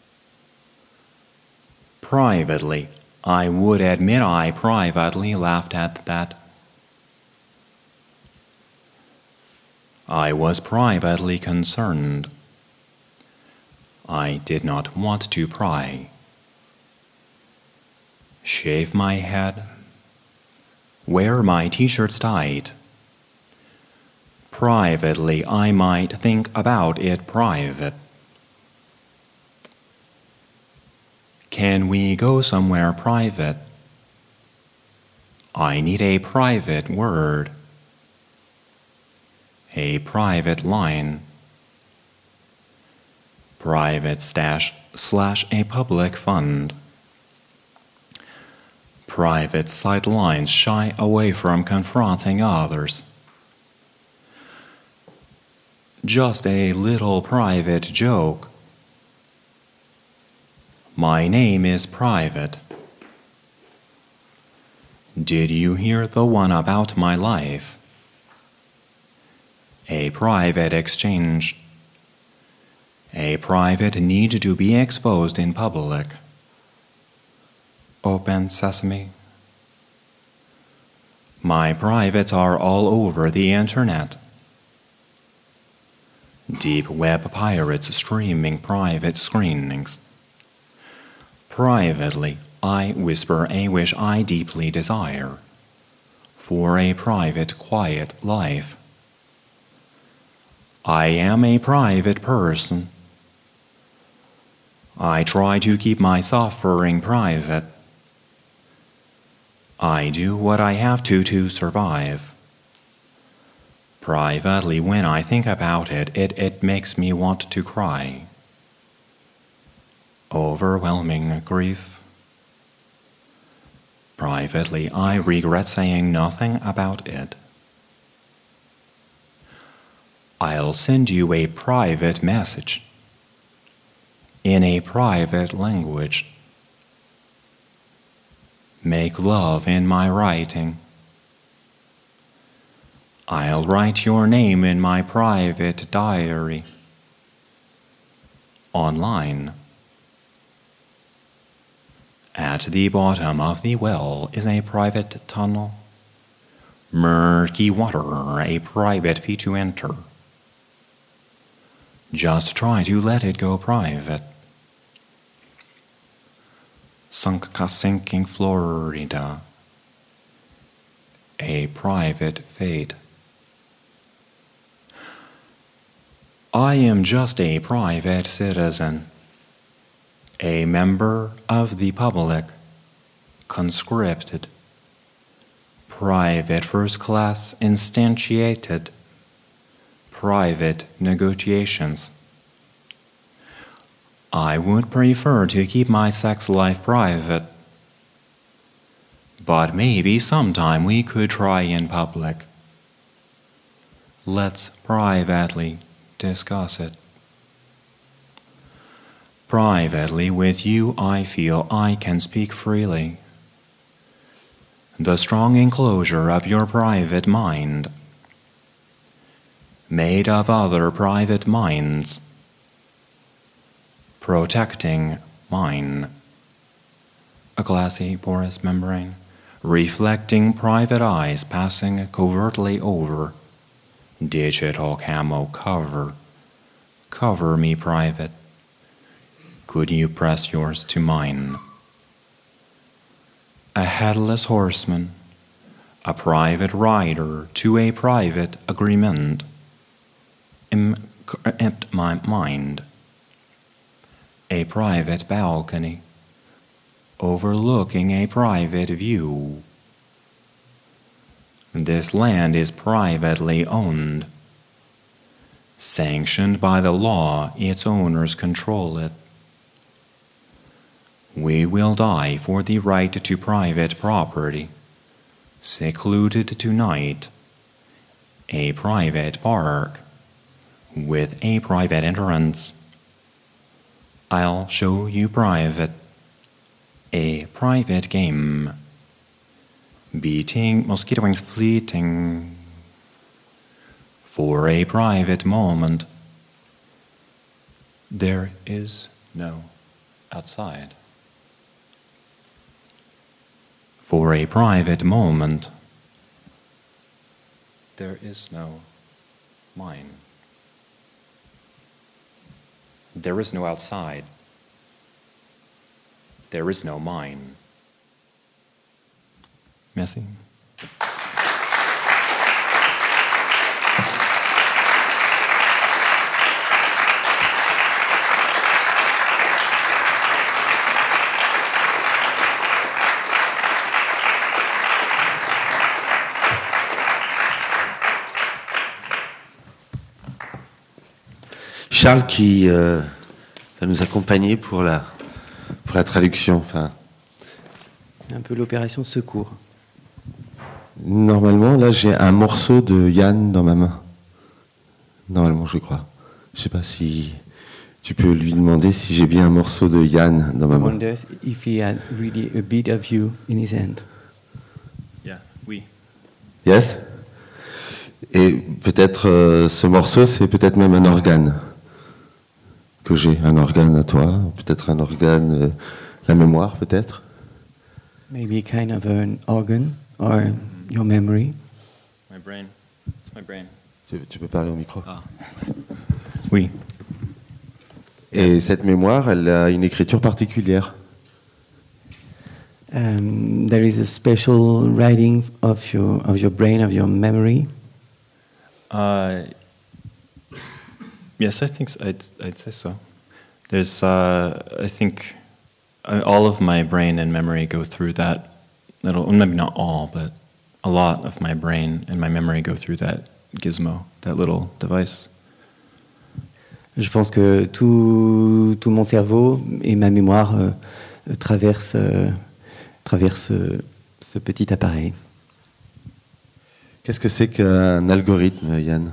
Privately, I would admit I privately laughed at that. I was privately concerned. I did not want to pry. Shave my head. Wear my t-shirts tight. Privately, I might think about it private. Can we go somewhere private? I need a private word. A private line. Private stash slash a public fund. Private sidelines shy away from confronting others. Just a little private joke. My name is Private. Did you hear the one about my life? A private exchange. A private need to be exposed in public. Open sesame. My privates are all over the internet. Deep web pirates streaming private screenings. Privately, I whisper a wish I deeply desire for a private, quiet life. I am a private person. I try to keep my suffering private. I do what I have to to survive. Privately, when I think about it, it, it makes me want to cry. Overwhelming grief. Privately, I regret saying nothing about it. I'll send you a private message in a private language. Make love in my writing. I'll write your name in my private diary. Online. At the bottom of the well is a private tunnel. Murky water, a private fee to enter. Just try to let it go private. Sunk sinking Florida. A private fate. I am just a private citizen. A member of the public, conscripted, private first class instantiated, private negotiations. I would prefer to keep my sex life private, but maybe sometime we could try in public. Let's privately discuss it. Privately with you, I feel I can speak freely. The strong enclosure of your private mind, made of other private minds, protecting mine. A glassy porous membrane, reflecting private eyes passing covertly over. Digital camo cover. Cover me private. Could you press yours to mine? A headless horseman, a private rider to a private agreement. Empt my mind. A private balcony, overlooking a private view. This land is privately owned. Sanctioned by the law, its owners control it. We will die for the right to private property, secluded tonight, a private park, with a private entrance. I'll show you private, a private game. beating, mosquito wings fleeting for a private moment. There is no outside. For a private moment, there is no mine. There is no outside. There is no mine. Merci. Charles qui euh, va nous accompagner pour la, pour la traduction. Enfin, c'est un peu l'opération secours. Normalement, là, j'ai un morceau de Yann dans ma main. Normalement, je crois. Je ne sais pas si tu peux lui demander si j'ai bien un morceau de Yann dans ma main. I wonder if he had really a bit of you in his hand. Yeah, oui. Yes. Et peut-être euh, ce morceau, c'est peut-être même un organe que j'ai, un organe à toi, peut-être un organe, euh, la mémoire, peut-être. Maybe kind of an organ or your memory. My brain. It's my brain. Tu, tu peux parler au micro. Ah. Oui. Et cette mémoire, elle a une écriture particulière. Um, there is a special writing of your of your brain, of your memory. Uh, yes, I think so. I'd, I'd say so. There's, uh, I think, uh, all of my brain and memory go through that little. Well, maybe not all, but a lot of my brain and my memory go through that gizmo, that little device. Je pense que tout, tout mon cerveau et ma mémoire euh, traversent, euh, traversent euh, ce petit appareil. Qu'est-ce que c'est qu'un algorithme, Yann?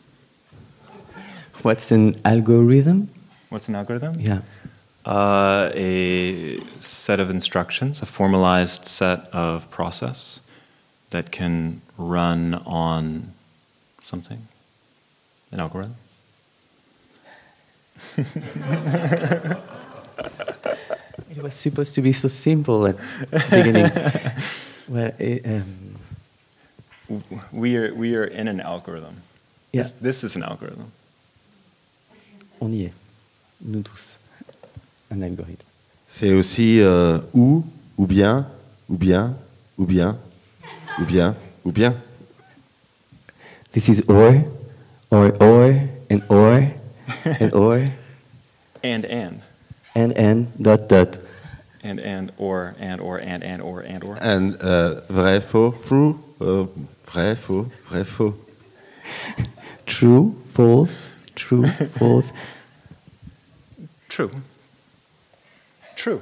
What's an algorithm? What's an algorithm? Yeah. Uh, a set of instructions, a formalized set of process that can run on something, an algorithm. It was supposed to be so simple at the beginning. Well, it, um, We are we are in an algorithm. Yeah. This, this is an algorithm. On y est, nous tous. Un algorithme. C'est aussi euh, ou, ou bien, ou bien, ou bien, ou bien, ou bien. This is or, or, or, and or, and or, And and and, and, dot, dot. and and or and or and and or and or. And, euh, vrai, faux, true, euh, vrai, faux, vrai, faux. True, false, true, false. True. True.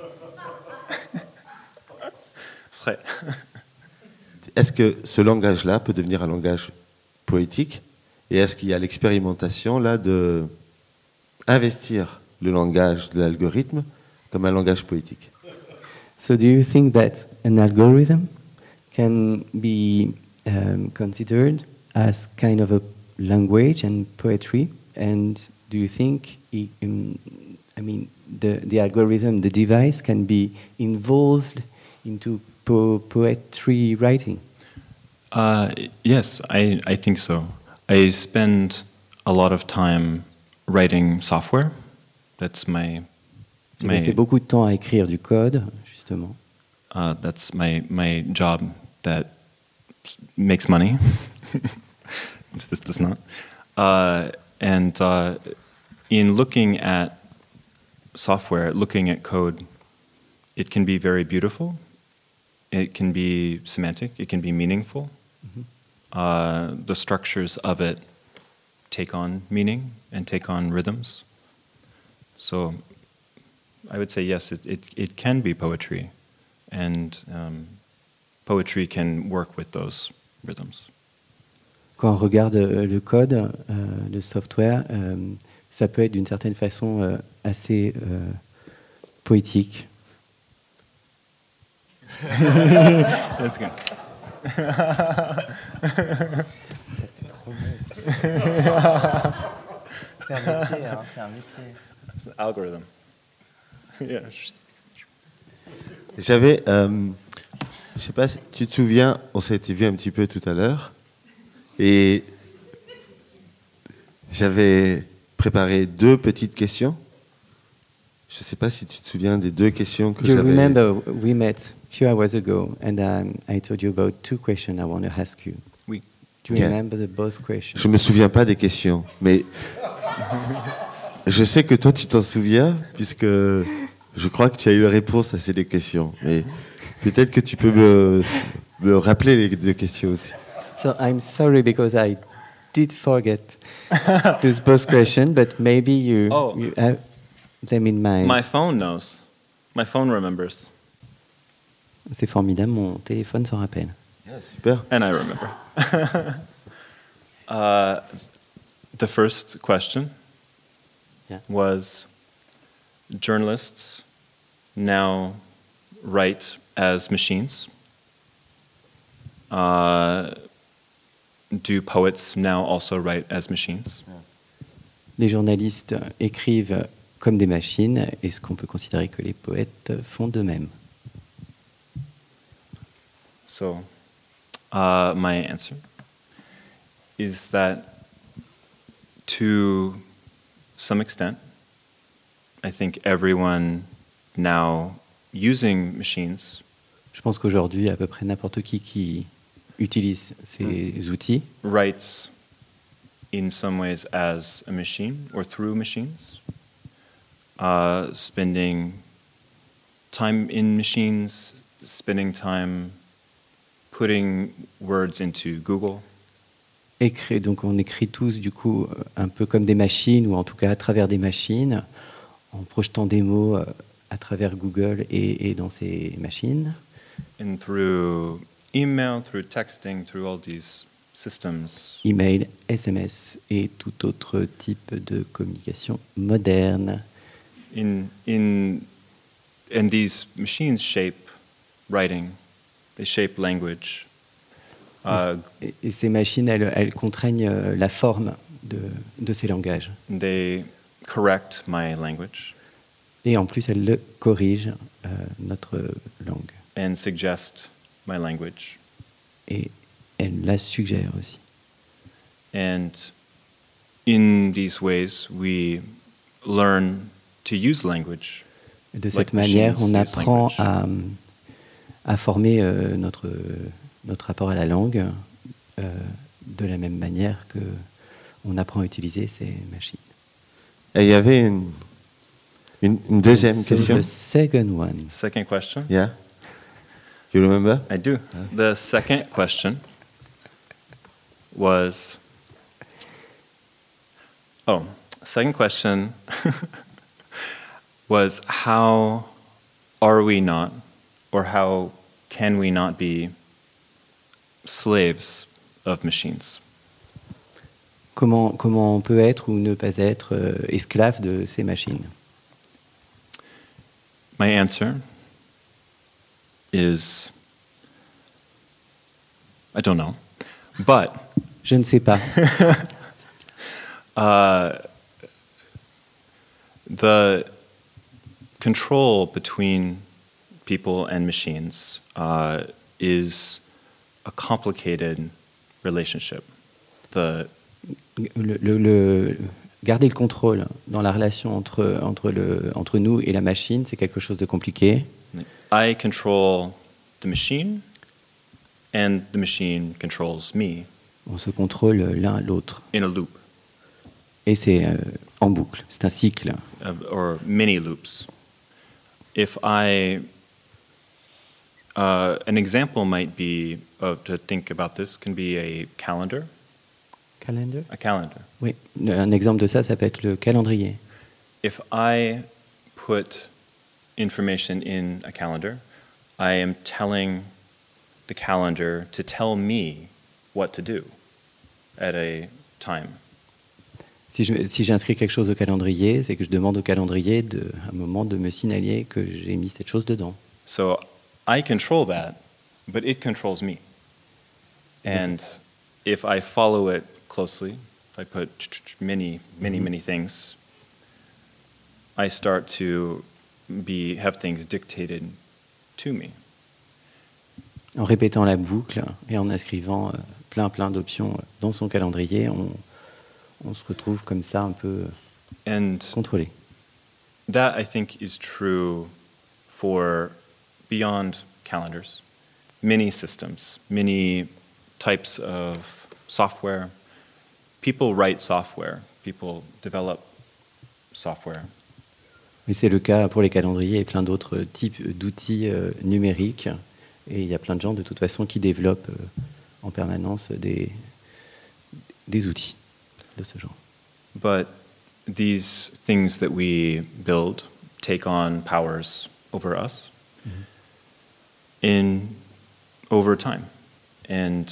Vrai. Est-ce que ce langage-là peut devenir un langage poétique? Et est-ce qu'il y a l'expérimentation là de investir le langage de l'algorithme comme un langage poétique? So do you think that an algorithm can be um, considered as kind of a language and poetry? And do you think, it, um, I mean, the, the algorithm, the device can be involved into po- poetry writing? Uh, yes, I, I think so. I spend a lot of time writing software. That's my J'ai my passé beaucoup de temps à écrire du code, justement. uh, that's my my job that makes money. This does not. Uh, and uh, in looking at software, looking at code, it can be very beautiful. It can be semantic. It can be meaningful. Mhm. Uh, the structures of it take on meaning and take on rhythms. So I would say yes, it, it, it can be poetry, and um, poetry can work with those rhythms. Quand on regarde euh, le code, euh, le software, euh, ça peut être d'une certaine façon euh, assez euh, poétique. That's good. C'est un métier, hein, c'est un métier. It's an algorithm. Yeah. J'avais, euh, je sais pas si tu te souviens, on s'était vu un petit peu tout à l'heure, et j'avais préparé deux petites questions. Je sais pas si tu te souviens des deux questions que You j'avais. remember we met a few hours ago, and um, I told you about two questions I want to ask you. Oui. Do you Yeah. remember the both questions? Je me souviens pas des questions, mais je sais que toi tu t'en souviens, puisque je crois que tu as eu la réponse à ces deux questions. Mais peut-être que tu peux me, me rappeler les deux questions aussi. So I'm sorry because I did forget those both questions, but maybe you, Oh. you have them in mind. My phone knows. My phone remembers. C'est formidable, mon téléphone s'en rappelle. Yeah, super. And I remember. uh, the first question Yeah. was journalists now write as machines. Uh, do poets now also write as machines? Les journalistes écrivent comme des machines. Est-ce qu'on peut considérer que les poètes font de même? So, uh, my answer is that to some extent, I think everyone now using machines Je pense qu'aujourd'hui, à peu près n'importe qui qui utilise ces outils writes in some ways as a machine or through machines, uh, spending time in machines, spending time putting words into Google. écrit. Donc on écrit tous du coup euh, un peu comme des machines, ou en tout cas à travers des machines, en projetant des mots euh, à travers Google et, et dans ces machines. And through email, through texting, through all these systems, Email, S M S et tout autre type de communication moderne. in in and these machines shape writing, they shape language. Uh, Et, et ces machines, elles, elles contraignent euh, la forme de, de ces langages. they correct my language Et en plus, elles le corrigent, euh, notre langue. and suggest my language. Et elles la suggèrent aussi. And in these ways, we learn to use language. Et de Like cette manière, machines on use apprend language. à, à former euh, notre, notre rapport à la langue euh, de la même manière que on apprend à utiliser ces machines. Et il y avait une, une, une deuxième So question. the second one. Second question. Yeah. You remember? I do. The second question was. Oh, second question was how are we not, or how can we not be slaves of machines? Comment, comment on peut être ou ne pas être euh, esclave de ces machines? My answer is I don't know, but Je ne sais pas. uh, the control between people and machines uh, is a complicated relationship. The Le, le- le- garder le contrôle dans la relation entre, entre, le, entre nous et la machine, c'est quelque chose de compliqué. I control the machine, and the machine controls me On se contrôle l'un l'autre. in a loop, Et c'est euh, en boucle, c'est un cycle. of, or many loops. If I, uh, an example might be of to think about this can be a calendar. Calendar? A calendar. Oui, un exemple de ça, ça peut être le calendrier. If I put information in a calendar, I am telling the calendar to tell me what to do at a time. Si je- si j'inscris quelque chose au calendrier, c'est que je demande au calendrier de, à un moment de me signaler que j'ai mis cette chose dedans. So I control that, but it controls me. And if I follow it closely, if I put many, many, many things, I start to be have things dictated to me. En répétant la boucle et en inscrivant euh, plein plein d'options dans son calendrier, on, on se retrouve comme ça un peu And contrôlé. that, I think, is true for beyond calendars, many systems, many types of software. People write software, people develop software. Mais c'est le cas pour les calendriers et plein d'autres types d'outils euh, numériques. Et il y a plein de gens, de toute façon, qui développent euh, en permanence des, des outils de ce genre. But these things that we build take on powers over us in over time, and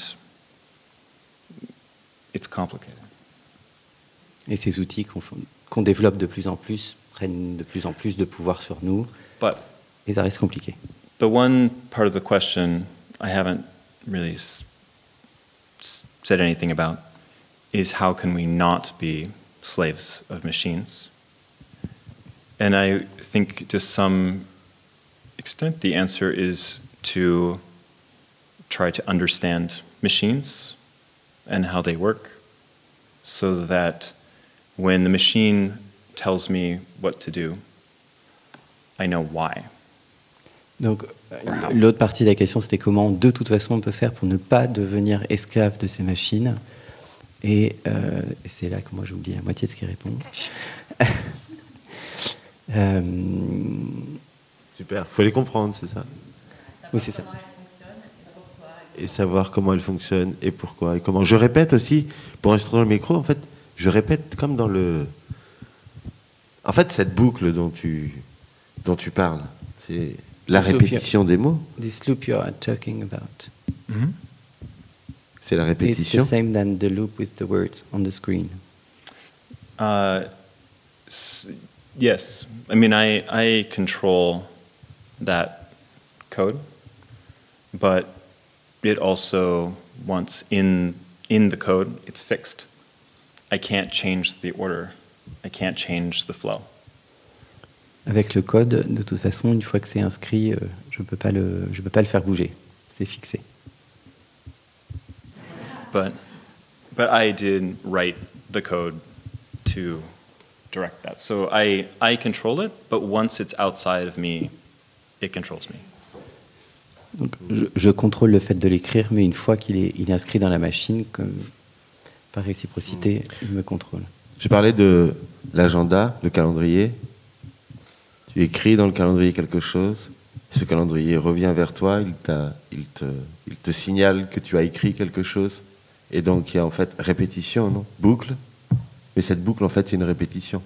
it's complicated. Et ces outils qu'on qu'on développe de plus en plus prennent de plus en plus de pouvoir sur nous, But et ça reste compliqué. the one part of the question I haven't really s- s- said anything about is how can we not be slaves of machines? And I think to some extent the answer is to try to understand machines and how they work so that when the machine tells me what to do, I know why. Donc, euh, l'autre partie de la question, c'était comment, de toute façon, on peut faire pour ne pas devenir esclave de ces machines. Et euh, c'est là que moi, j'ai oublié la moitié de ce qu'il répond. euh, Super, faut les comprendre, c'est ça. oui, c'est ça. Et savoir comment elles fonctionnent et pourquoi. Et comment. Je répète aussi, pour rester dans le micro, en fait, je répète comme dans le... En fait, cette boucle dont tu, dont tu parles, c'est la This loop répétition des mots. This loop you are talking about. C'est la It's répétition. the same than the loop with the words on the screen. Uh, s- yes, I mean I I control that code, but it also once in in the code it's fixed. I can't change the order. I can't change the flow. Avec le code, de toute façon, une fois que c'est inscrit, euh, je peux pas le, je peux pas le faire bouger. C'est fixé. But but I did write the code to direct that. So I I control it, but once it's outside of me, it controls me. Donc, je, je contrôle le fait de l'écrire, mais une fois qu'il est, il est inscrit dans la machine, comme, par réciprocité, il me contrôle. Je parlais de l'agenda, le calendrier. Tu écris dans le calendrier quelque chose, ce calendrier revient vers toi, il, t'a, il, te, il te signale que tu as écrit quelque chose, et donc il y a en fait répétition, non ? Boucle, mais cette boucle en fait c'est une répétition.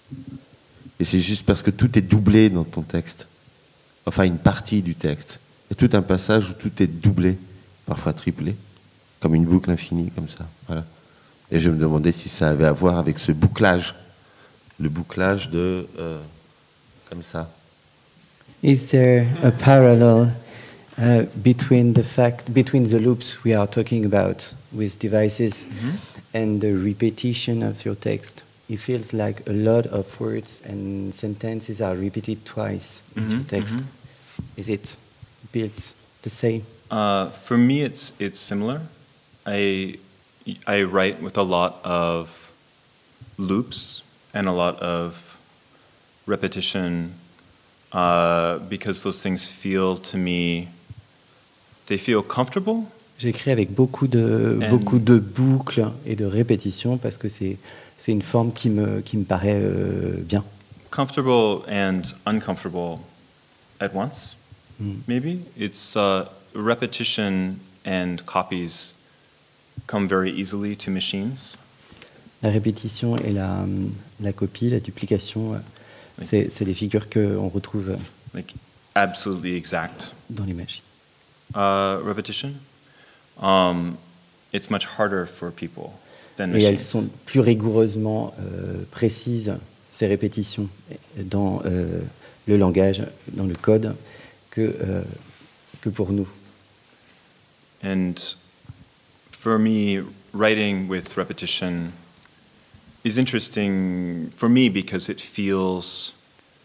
Et c'est juste parce que tout est doublé dans ton texte, enfin une partie du texte. Il y a tout un passage où tout est doublé, parfois triplé, comme une boucle infinie, comme ça. Voilà. Et je me demandais si ça avait à voir avec ce bouclage, le bouclage de... Euh, comme ça. Is there a parallel uh, between the fact, between the loops we are talking about with devices and the repetition of your text? It feels like a lot of words and sentences are repeated twice in your Mhm, text. mhm. Is it built the same? Uh, for me, it's it's similar. I I write with a lot of loops and a lot of repetition uh, because those things feel to me they feel comfortable. J'écris avec beaucoup de, And- beaucoup de boucles et de répétitions parce que c'est, c'est une forme qui me, qui me paraît euh, bien. Comfortable and uncomfortable at once, Mm. maybe. It's uh, repetition and copies come very easily to machines. La répétition et la, la copie, la duplication, euh, Oui. c'est, c'est des figures qu'on retrouve Like absolutely exact. dans les machines. Uh, repetition, um, it's much harder for people than Et elles machines. sont plus rigoureusement euh, précises, ces répétitions, dans euh, le langage, dans le code, que euh, que pour nous. And for me, writing with repetition is interesting for me because it feels,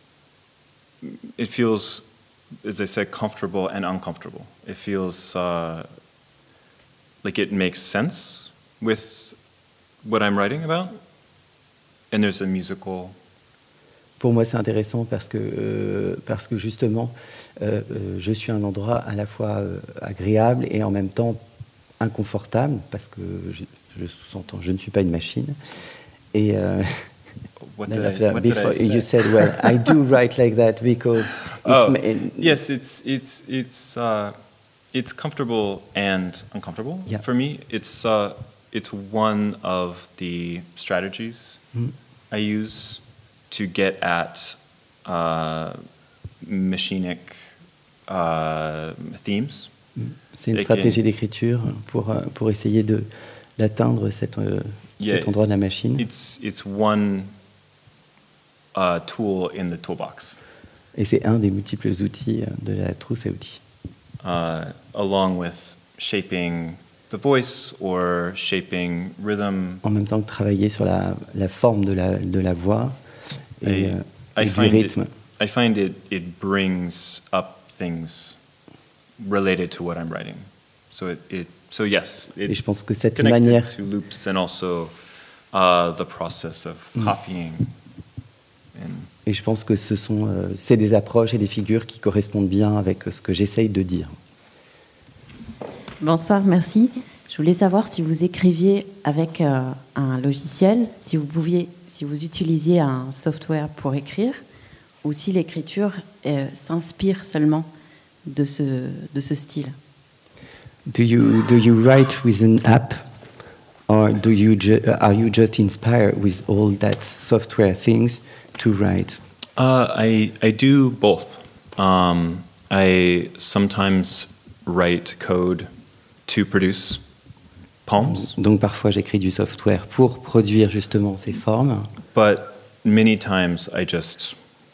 it feels, as I said, comfortable and uncomfortable. It feels uh, like it makes sense with what I'm writing about. And there's a musical. Pour moi, c'est intéressant parce que, euh, parce que justement, euh, euh, je suis à un endroit à la fois euh, agréable et en même temps inconfortable, parce que je, je sous-entends, je ne suis pas une machine. Et euh, What did I, what before, did I say? you said, well, I do write like that because. Oh, it, yes, it's it's it's uh, it's comfortable and uncomfortable yeah. for me. It's uh, it's one of the strategies mm. I use to get at uh, machinic uh, themes. C'est une stratégie d'écriture pour, pour essayer de, d'atteindre cette, euh, yeah, cet endroit de la machine. It's, it's one uh, tool in the toolbox. Et c'est un des multiples outils de la trousse à outils. Uh, along with shaping the voice or shaping rhythm. En même temps que travailler sur la, la forme de la, de la voix et, I, euh, I et du find rythme. It, I find it, it brings up things related to what I'm writing. So it, it so yes, it et je pense que cette connected manière to loops and also uh, the process of mm. copying. And et je pense que ce sont euh, c'est des approches et des figures qui correspondent bien avec ce que j'essaye de dire. Bonsoir, merci. Je voulais savoir si vous écriviez avec euh, un logiciel, si vous pouviez, si vous utilisiez un software pour écrire, ou si l'écriture euh, s'inspire seulement de ce, de ce style. Do you, do you write with an app, or do you ju- are you just inspired with all that software things to write? Uh, I I do both. Um, I sometimes write code to produce poems. Donc parfois j'écris du software pour produire justement ces formes. But many times I just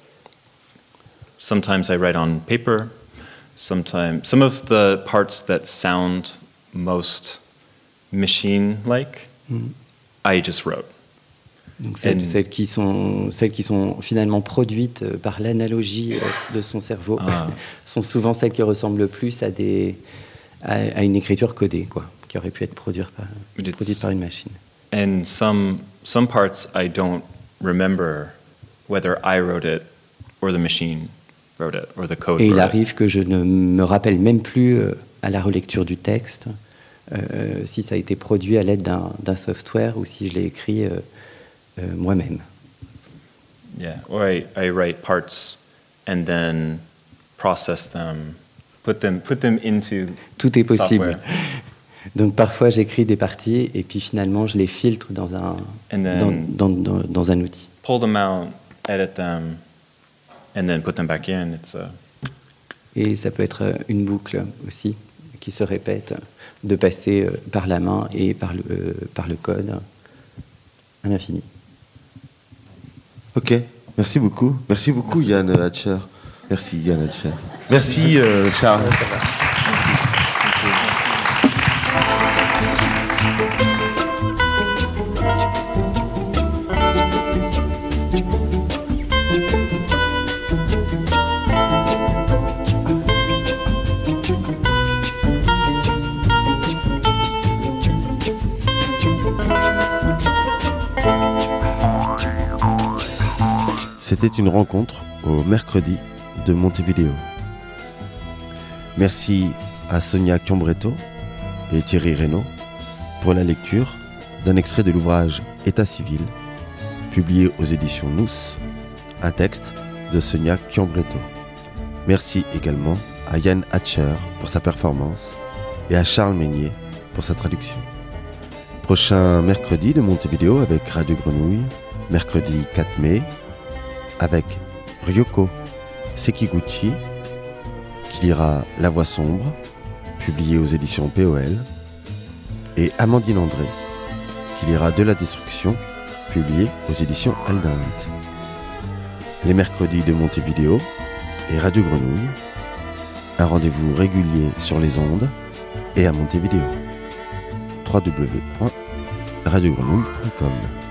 sometimes I write on paper. Sometimes some of the parts that sound most machine-like, mm. I just wrote. Donc celles, And, celles, qui sont, celles qui sont finalement produites par l'analogie de son cerveau ah. sont souvent celles qui ressemblent le plus à, des, à, à une écriture codée, quoi, qui aurait pu être produite par, produite par une machine. And some, some parts I don't remember whether I wrote it or the machine wrote it or the code Et wrote il arrive it. que je ne me rappelle même plus euh, à la relecture du texte euh, si ça a été produit à l'aide d'un, d'un software ou si je l'ai écrit euh, euh, moi-même. Yeah, or I, I write parts and then process them, put them, put them into Tout est possible. software. Donc parfois j'écris des parties et puis finalement je les filtre dans un, dans, dans, dans, dans un outil. Pull them out, edit them, and then put them back in. It's a... Et ça peut être une boucle aussi qui se répète, de passer par la main et par le, euh, par le code à l'infini. Ok, merci beaucoup. Merci beaucoup merci. Yann Hatcher. Merci Yann Hatcher. Merci euh, Charles. C'était une rencontre au mercredi de Montevideo. Merci à Sonia Chiambretto et Thierry Reynaud pour la lecture d'un extrait de l'ouvrage État civil, publié aux éditions Nous, un texte de Sonia Chiambretto. Merci également à Yann Hatcher pour sa performance et à Charles Meignier pour sa traduction. Prochain mercredi de Montevideo avec Radio Grenouille, mercredi quatre mai, avec Ryoko Sekiguchi, qui lira La Voix sombre, publié aux éditions P O L, et Amandine André, qui lira De la destruction, publié aux éditions Aldinte. Les mercredis de Montevideo et Radio Grenouille, Un rendez-vous régulier sur les ondes et à Montevideo. w w w point radio grenouille point com